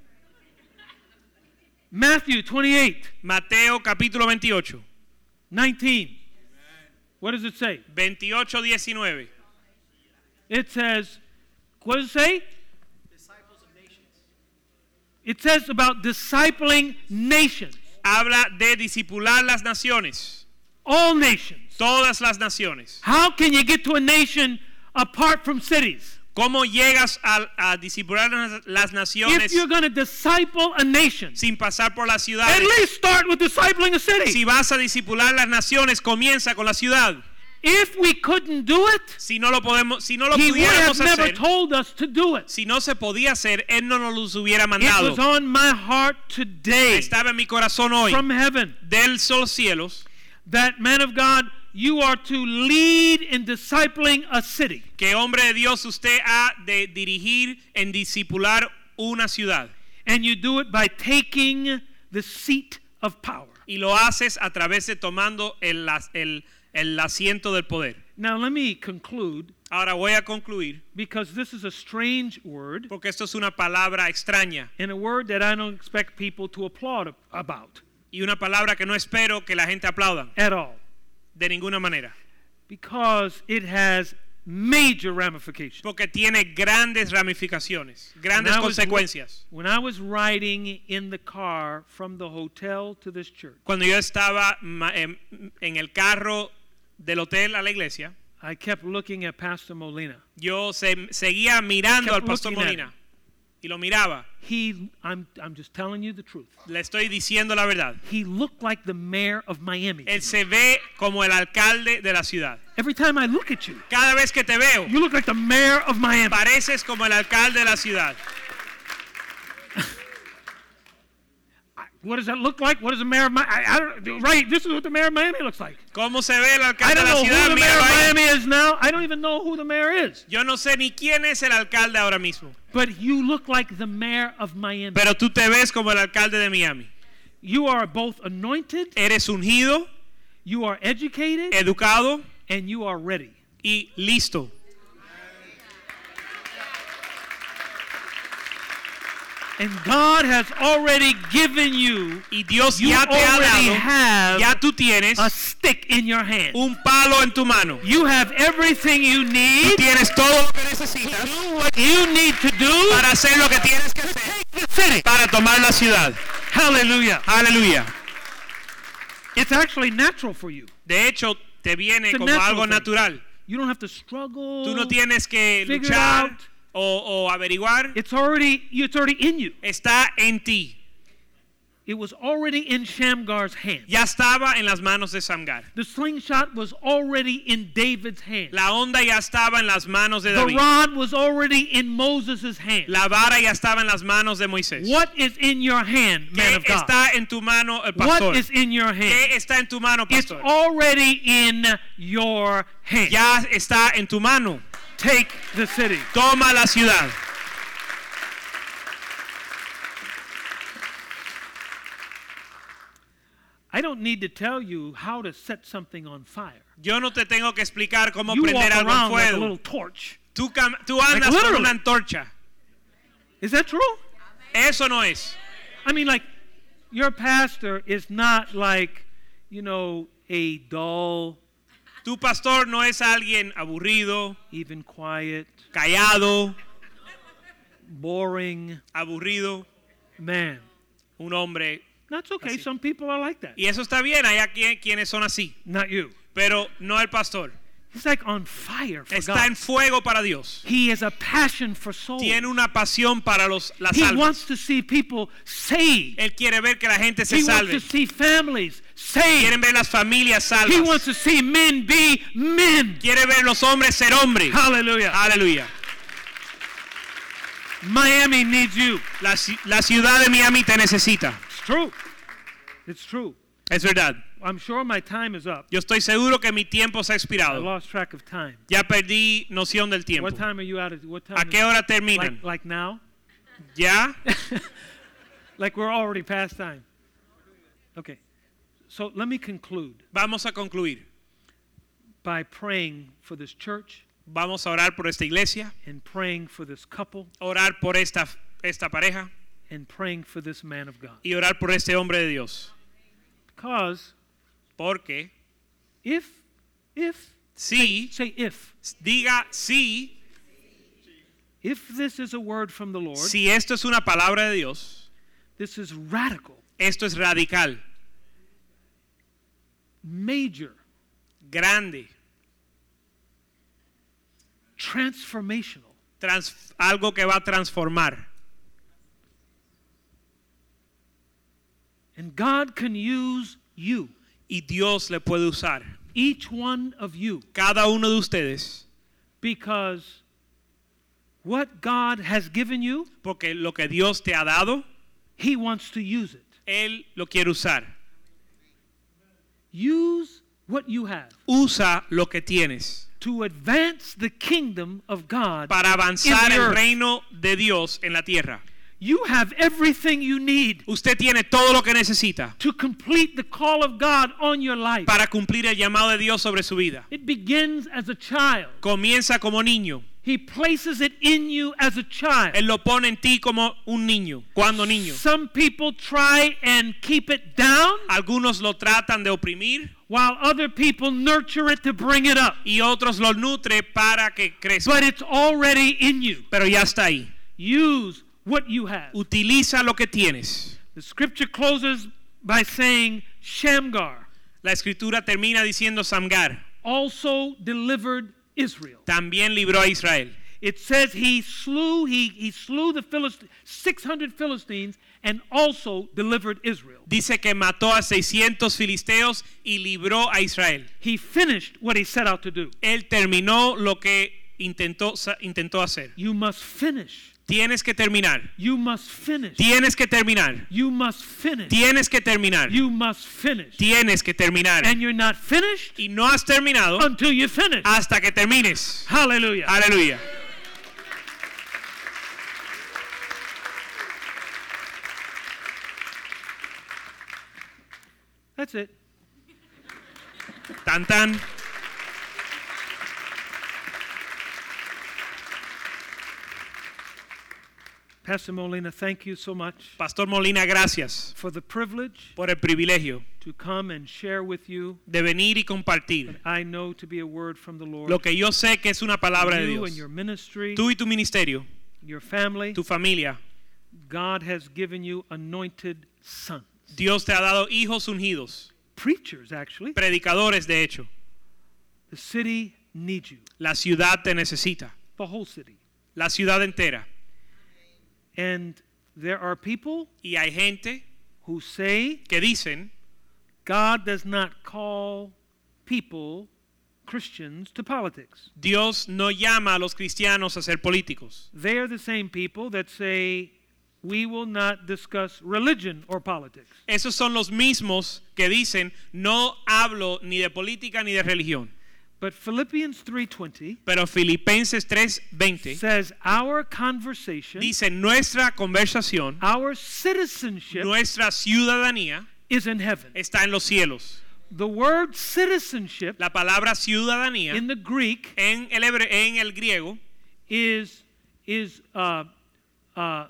Matthew twenty-eight,
Mateo capítulo veintiocho,
nineteen. What does it say?
veintiocho diecinueve.
It says, what does it say?
Disciples of nations.
It says about discipling nations.
Habla de discipular las naciones.
All nations.
Todas las naciones.
How can you get to a nation apart from cities?
¿Cómo llegas a, a discipular las- las
If
naciones
you're going to disciple a nation,
sin pasar por las
at
ciudades?
least start with discipling a city.
Si vas a discipular las naciones, comienza con la ciudad.
If we couldn't do it,
Si no lo podemos, si no lo
he would have
pudiéramos
never
hacer,
told us to do it.
si no se podía hacer, él no nos los hubiera
It
mandado.
was on my heart today
Estaba en mi corazón hoy,
from heaven
del sol cielos,
that, man of God, you are to lead in discipling a city.
que hombre de Dios usted ha de dirigir en discipular una ciudad.
And you do it by taking the seat of power.
Y lo haces a través de tomando el, as- el, el asiento del poder.
Now let me conclude,
Ahora voy a concluir,
because this is a strange word
porque esto es una palabra extraña
and a word that I don't expect people to applaud about
y una palabra que no espero que la gente aplauda
at all,
de ninguna manera,
because it has major ramifications.
porque tiene grandes ramificaciones, grandes
When I was-
consecuencias.
When I was riding in the car from the hotel to this church,
Cuando yo estaba ma- en, en el carro del hotel a la iglesia,
I kept looking at Pastor Molina.
yo se, seguía mirando
Kept
al pastor
looking at
Molina y lo miraba.
He, I'm, I'm just telling you the truth.
Le estoy diciendo la verdad.
He looked like the mayor of Miami.
Él se ve como el alcalde de la ciudad.
Every time I look at you,
Cada vez que te veo,
you look like the mayor of Miami.
pareces como el alcalde de la ciudad.
What does that look like? What does the mayor of Miami? I, I don't, right, this is what the mayor of Miami looks like.
¿Cómo se ve el
I
alcalde de
don't
la
know
ciudad?
who the mayor
Míralo
of
ahí.
Miami is now. I don't even know who the mayor is.
Yo no sé ni quién es el alcalde ahora mismo,
But you look like the mayor of Miami.
pero tú te ves como el alcalde de Miami.
You are both anointed,
Eres ungido,
you are educated,
educado
and you are ready.
y listo.
And God has already given you,
Y Dios
you
ya te ha
already
dado,
have
ya tú tienes
a stick in your hand.
un palo en tu mano.
You have everything you
Tú
need
tienes todo lo que
to
necesitas
do what you need to do
para hacer lo que tienes que
to
hacer
take the city.
para tomar la ciudad.
Hallelujah.
Aleluya.
It's actually natural for you.
De hecho, te viene
It's a
como
natural
algo
thing.
natural.
You don't have to struggle.
Tú no tienes que
Figure it
luchar
out.
o, o averiguar.
It's already it's already in you.
Está en ti.
It was already in Shamgar's hand.
Ya estaba en las manos de Samgar.
The slingshot was already in David's hand.
La onda ya estaba en las manos de
The
David.
rod was already in Moses' hand.
La vara ya estaba en las manos de Moisés.
What is in your hand, man
¿Qué
of God?
está en tu mano, el pastor?
What is in your hand?
¿Qué está en tu mano,
It's
pastor?
already in your hand.
Ya está en tu mano.
Take the city.
Toma la ciudad.
I don't need to tell you how to set something on fire.
Yo no te tengo que explicar cómo
You walk
prender algo en
around like a
fuego.
little torch.
Tú, cam- tú andas
Like
con
literally.
una antorcha.
Is that true?
Eso no es.
I mean, like, your pastor is not like, you know, a dull,
Tu pastor no es alguien aburrido,
even quiet,
callado,
boring
aburrido,
man.
un hombre.
That's okay.
Así.
Some people are like that.
Y eso está bien, hay aquí quienes son así.
Not you.
Pero no el pastor.
He's like on fire for
Está
God.
en fuego para Dios.
He has a passion for souls.
Tiene una pasión para los, las
He
almas.
wants to see people saved.
Él quiere ver que la gente se
He wants
salve.
to see families saved.
Quieren ver las familias
He wants
salvas.
to see men be men.
Quiere ver los hombres ser hombres.
Hallelujah.
Aleluya.
Miami needs you.
La, ci- la ciudad de Miami te necesita.
It's true. It's true.
Es verdad.
I'm sure my time is up.
Yo estoy seguro que mi tiempo se ha
I
expirado.
lost track of time.
Ya perdí noción del tiempo.
What time are you out of? What time?
¿A
is
qué
it?
hora terminan?
Like, like now?
¿Ya?
Like we're already past time. Okay. So let me conclude
Vamos a concluir.
by praying for this church
Vamos a orar por esta iglesia,
and praying for this couple
orar por esta, esta pareja
and praying for this man of God.
y orar por este hombre de Dios.
Because
Porque
if, if,
si,
say if,
diga si,
if this is a word from the Lord,
si esto es una palabra de Dios,
this is radical,
esto es radical,
major,
grande,
transformational.
trans- algo que va a transformar.
And God can use you,
Y Dios le puede usar.
each one of you,
Cada uno de ustedes,
because what God has given you,
porque lo que Dios te ha dado,
He wants to use it.
Él lo quiere usar.
Use what you have
Usa lo que tienes
to advance the kingdom of God
para
in
avanzar
the
el
earth.
reino de Dios en la tierra.
You have everything you need
Usted tiene todo lo que necesita
to complete the call of God on your life.
para cumplir el llamado de Dios sobre su vida.
It begins as a child.
Comienza como niño.
He places it in you as a child.
Él lo pone en ti como un niño, cuando niño.
Some people try and keep it down,
Algunos lo tratan de oprimir
while other people nurture it to bring it up.
y otros lo nutre para que crezca.
But it's already in you.
Pero ya está ahí.
Use what you have.
Utiliza lo que tienes.
The scripture closes by saying Shamgar
La escritura termina diciendo Samgar
also delivered Israel.
también libró a Israel.
It says he slew he he slew the Philistines, six hundred Philistines, and also delivered Israel.
Dice que mató a seiscientos filisteos y libró a Israel.
He finished what he set out to do.
Él terminó lo que intentó intentó hacer.
You must finish.
Tienes que terminar.
You must finish.
Tienes que terminar.
You must finish.
Tienes que terminar.
You must finish.
Tienes que terminar.
And you're not finished
Y no has terminado
until you finish.
hasta que termines.
Hallelujah.
Aleluya.
That's it.
Tan tan.
Pastor Molina, thank you so much
Pastor Molina, gracias
for the privilege
por el privilegio
to come and share with you
de venir y compartir
what I know to be a word from the Lord.
lo que yo sé que es una palabra de
You
Dios.
and your ministry,
Tú y tu ministerio,
your family,
tu familia,
God has given you anointed sons.
Dios te ha dado hijos ungidos,
Preachers, actually.
predicadores de hecho.
The city needs you.
La ciudad te necesita,
The whole city.
la ciudad entera.
And there are people
Y hay gente
who say
que dicen
God does not call people, Christians, to politics.
Dios no llama a los cristianos a ser políticos.
They are the same people that say we will not discuss religion or politics.
Esos son los mismos que dicen no hablo ni de política ni de religión.
But Philippians three twenty
Pero Filipenses tres veinte
says our conversation,
dice nuestra conversación,
our citizenship
nuestra ciudadanía
is in heaven.
está en los cielos.
The word citizenship
La palabra ciudadanía
in the Greek
en el, hebre- en el griego
is is uh, uh,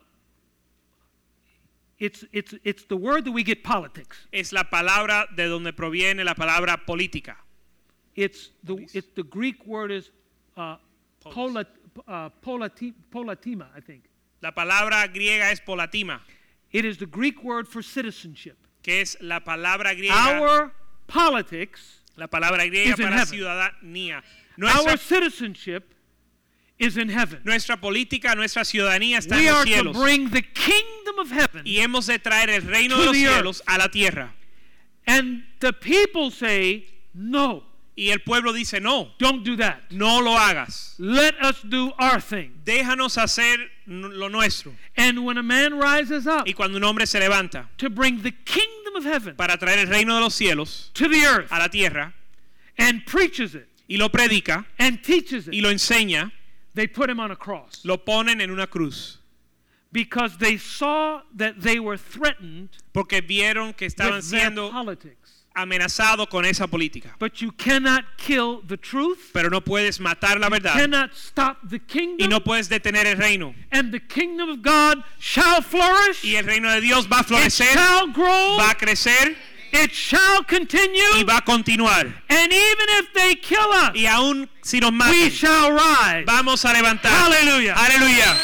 it's it's it's the word that we get politics.
es la palabra de donde proviene la palabra política.
It's the it's the Greek word is uh, polat, uh, polati, polatima, I think.
La palabra griega es polatima,
It is the Greek word for citizenship.
que es la palabra griega,
Our politics,
la palabra griega
is in
para
heaven.
ciudadanía.
our
Nuestra,
citizenship is in heaven.
nuestra política, nuestra ciudadanía está
We
en los
are to
cielos.
bring the kingdom of heaven,
Y hemos de traer el reino
to
de los
the earth.
cielos a la tierra.
and the people say, "No,
Y el pueblo dice, no,
don't do that.
no lo hagas.
Let us do our thing."
Déjanos hacer n- lo nuestro.
And when a man rises up
Y cuando un hombre se levanta
to bring the kingdom of heaven
para traer el reino de los cielos
to the earth
a la tierra
and preaches it
y lo predica
and teaches
y
it,
lo enseña,
they put him on a cross
lo ponen en una cruz.
because they saw that they were threatened
Porque vieron que estaban
with their
siendo
politics.
amenazados con esa política.
But you cannot kill the truth.
Pero no puedes matar la verdad
Cannot stop the
y
kingdom.
no puedes detener el reino.
And the kingdom of God shall flourish.
Y el reino de Dios va a
It
florecer,
shall grow.
va a crecer
It shall
y
continue.
va a continuar.
And even if they kill us,
Y aún si nos
we
matan,
shall rise.
vamos a levantar.
Hallelujah.
Aleluya.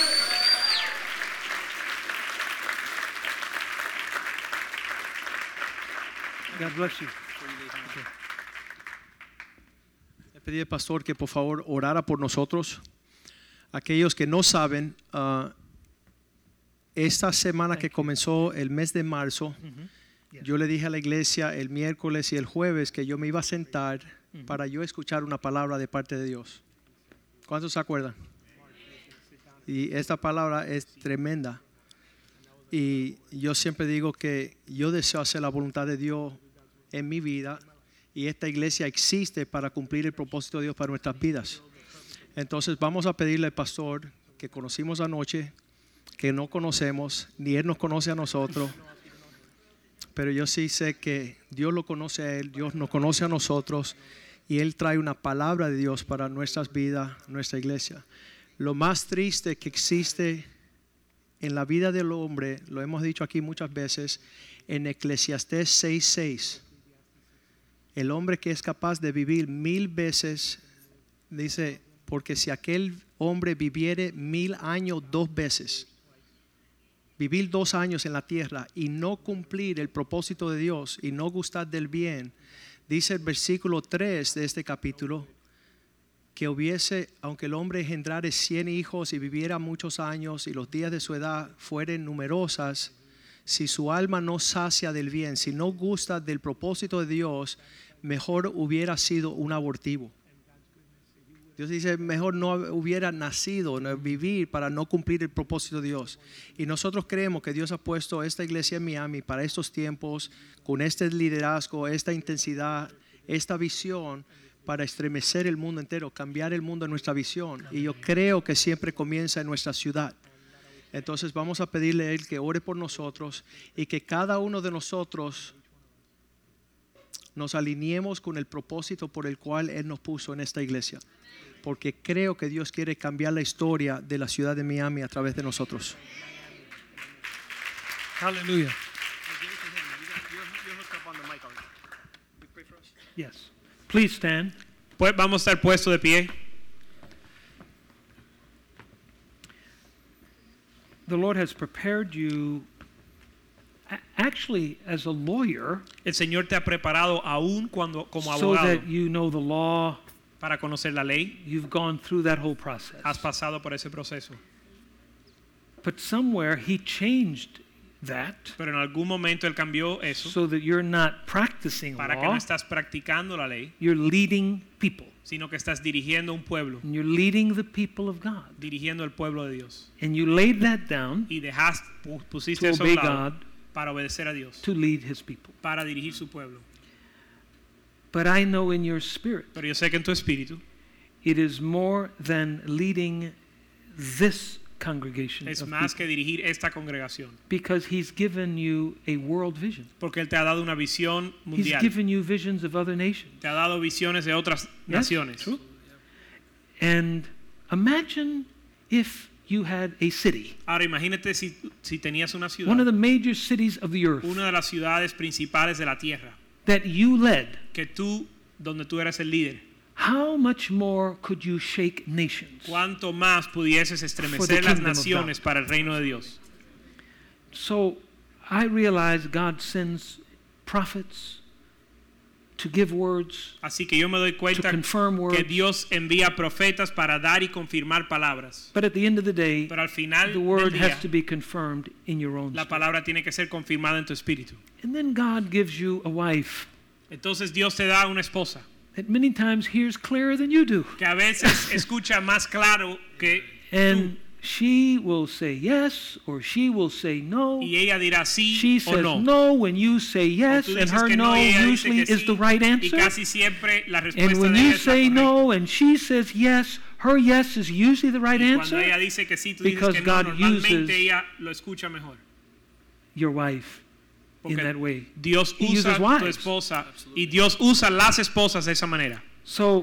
God bless you.
Le pedí al pastor que por favor orara por nosotros. Aquellos que no saben, uh, esta semana que comenzó el mes de marzo,
Yes.
yo le dije a la iglesia el miércoles y el jueves que yo me iba a sentar para yo escuchar una palabra de parte de Dios. ¿Cuántos se acuerdan? Y esta palabra es tremenda. Y yo siempre digo que yo deseo hacer la voluntad de Dios en mi vida y esta iglesia existe para cumplir el propósito de Dios para nuestras vidas. Entonces vamos a pedirle al pastor que conocimos anoche que no conocemos, ni Él nos conoce a nosotros. Pero yo sí sé que Dios lo conoce a Él, Dios nos conoce a nosotros y Él trae una palabra de Dios para nuestras vidas, nuestra iglesia. Lo más triste que existe en la vida del hombre, lo hemos dicho aquí muchas veces, en Eclesiastés seis seis, el hombre que es capaz de vivir mil veces, dice, porque si aquel hombre viviere mil años dos veces, vivir dos años en la tierra y no cumplir el propósito de Dios y no gustar del bien, dice el versículo tres de este capítulo, que hubiese, aunque el hombre engendrare cien hijos y viviera muchos años y los días de su edad fueren numerosas, si su alma no sacia del bien, si no gusta del propósito de Dios, mejor hubiera sido un abortivo. Dios dice, mejor no hubiera nacido, no vivir para no cumplir el propósito de Dios. Y nosotros creemos que Dios ha puesto esta iglesia en Miami para estos tiempos, con este liderazgo, esta intensidad, esta visión, para estremecer el mundo entero, cambiar el mundo en nuestra visión. Y yo creo que siempre comienza en nuestra ciudad. Entonces vamos a pedirle a Él que ore por nosotros y que cada uno de nosotros nos alineemos con el propósito por el cual Él nos puso en esta iglesia. Porque creo que Dios quiere cambiar la historia de la ciudad de Miami a través de nosotros.
Hallelujah. Yes. Please stand.
Pues vamos a estar puestos de pie.
The Lord has prepared you a- actually as a lawyer
El Señor te ha preparado aún cuando como
so
abogado
that you know the law.
para conocer la ley.
You've gone through that whole process.
Has pasado por ese proceso.
But somewhere he changed that
Pero en algún momento Él cambió eso
so that you're not practicing
para que
law,
no estás practicando la ley,
you're leading people.
sino que estás dirigiendo un pueblo,
And you're leading the people of God.
dirigiendo el pueblo de Dios.
And you laid that down
Y dejaste, pu- pusiste
to
eso a
obey
un lado
God,
para obedecer a Dios,
to lead his people.
para dirigir su pueblo.
But I know in your spirit,
Pero yo sé que en tu espíritu
it is more than leading this congregation
es
of
más
people,
que dirigir esta congregación,
because he's given you a world vision.
porque Él te ha dado una visión
He's
mundial,
given you visions of other nations.
te ha dado visiones de otras
Yes,
naciones.
true. And imagine if you had a city,
Ahora imagínate si, si tenías una ciudad,
one of the major cities of the earth,
una de las ciudades principales de la tierra,
that you led.
que tú, donde tú eras el líder,
How much more could you shake nations?
cuánto más pudieses
For the
estremecer las
kingdom of
naciones
God.
para el reino de Dios.
So I realize God sends prophets to give words,
Así que yo me doy
to
cuenta
confirm
que
words.
Dios envía profetas para dar y confirmar palabras.
But at the end of the day,
Pero al final
the
del
word
día,
has to be confirmed in your own
la
spirit.
palabra tiene que ser confirmada en tu espíritu.
And then God gives you a wife
Entonces Dios te da una esposa
that many times hears clearer than you do.
que a veces escucha más claro que
And she will say yes or she will say no.
y ella dirá sí
She
o
says
no.
no when you say
O
yes,
tú
and
dices
her
que
no
y ella dice
usually
que
is
sí,
the right
y
answer.
casi siempre la
And
respuesta
when
de
you
ella es la
say
correcta.
no and she says yes, her yes is usually the right
Y cuando ella
answer.
dice que sí, tú dices
Because
que no,
God
normalmente
uses
ella lo escucha mejor.
Your wife in
Porque
that way.
Dios
He
usa
uses
tu
wives.
esposa y Dios usa las esposas de esa manera.
So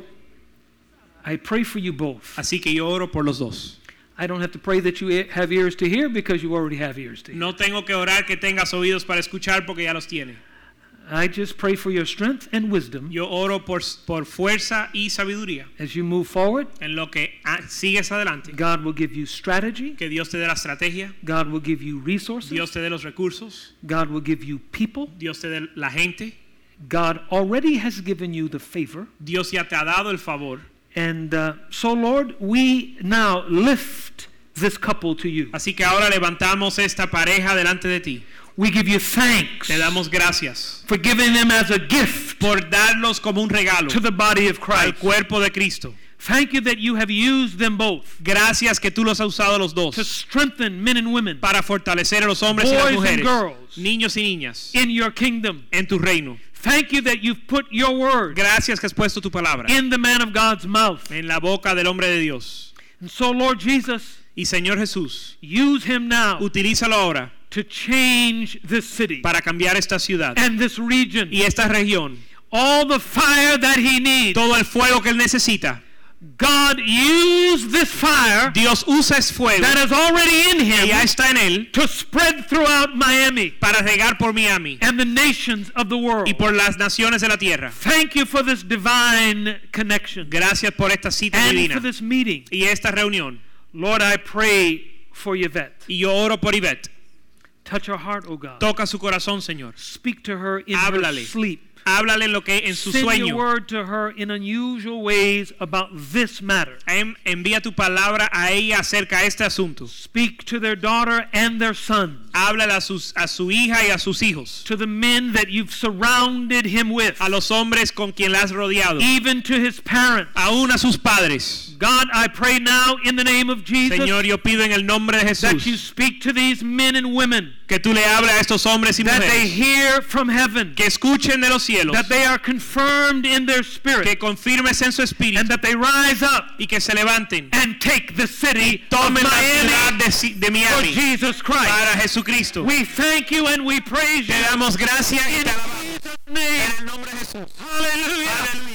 I pray for you both.
Así que yo oro por los dos.
I don't have to pray that you e- have ears to hear because you already have ears to hear.
No tengo que orar que tengas oídos para escuchar porque ya los tiene.
I just pray for your strength and wisdom
Yo oro por, por fuerza y sabiduría.
as you move forward.
En lo que ah, sigues adelante.
God will give you strategy.
Que Dios te dé la estrategia.
God will give you resources.
Dios te dé los recursos.
God will give you people.
Dios te dé la gente.
God already has given you the favor.
Dios ya te ha dado el favor.
And uh, so, Lord, we now lift this couple to you.
Así que ahora levantamos esta pareja delante de ti.
We give you thanks
Te damos gracias
for giving them as a gift
por darlos como un regalo
to the body of
al
Christ.
cuerpo de Cristo.
Thank you that you have used them both
Gracias que tú los has usado los dos
to strengthen men and women
para fortalecer a los hombres y las
Boys and
mujeres,
girls.
niños y niñas,
in your kingdom.
en tu reino.
Thank you that you've put your word
Gracias que has puesto tu palabra
in the man of God's mouth.
en la boca del hombre de Dios.
And so, Lord Jesus,
Y Señor Jesús,
use him now
utilízalo ahora
to change this city
para cambiar esta ciudad
and this region.
y esta región.
All the fire that he needs.
Todo el fuego que él necesita.
God use this fire
Dios usa ese fuego
that is already in
que
him
ya está en él
to spread throughout Miami
para regar por Miami
and the nations of the world.
y por las naciones de la tierra.
Thank you for this divine connection
Gracias por esta cita
and
divina
for this meeting.
y esta reunión.
Lord, I pray for Yvette.
Y yo oro por Ivette.
Touch her heart, oh God.
Toca su corazón, Señor.
Speak to her in
Háblale.
her sleep.
Háblale en lo que en su
Send
sueño.
your word to her in unusual ways about this matter.
En- Envía tu palabra a ella acerca de este asunto.
Speak to their daughter and their son,
Háblale a, sus, a su hija y a sus hijos.
to the men that you've surrounded him with,
A los hombres con quien la has rodeado.
even to his parents.
Aún a sus padres.
God, I pray now in the name of Jesus
Señor, yo pido en el nombre de
that you
Jesús
speak to these men and women,
que tú le hables a estos hombres y
that they
mujeres.
hear from heaven,
Que escuchen de los cielos.
that they are confirmed in their spirit,
Que confirmes en su espíritu.
and that they rise up
Y que se levanten.
and take the city of
Tomen la
Miami
ciudad de, Si- de
for
Miami.
Jesus Christ.
Para Jesucristo.
We thank you and we praise
Te
you
damos gracias y
in
te alabamos
Jesus' name.
en el nombre de Jesús.
Hallelujah.
Aleluya.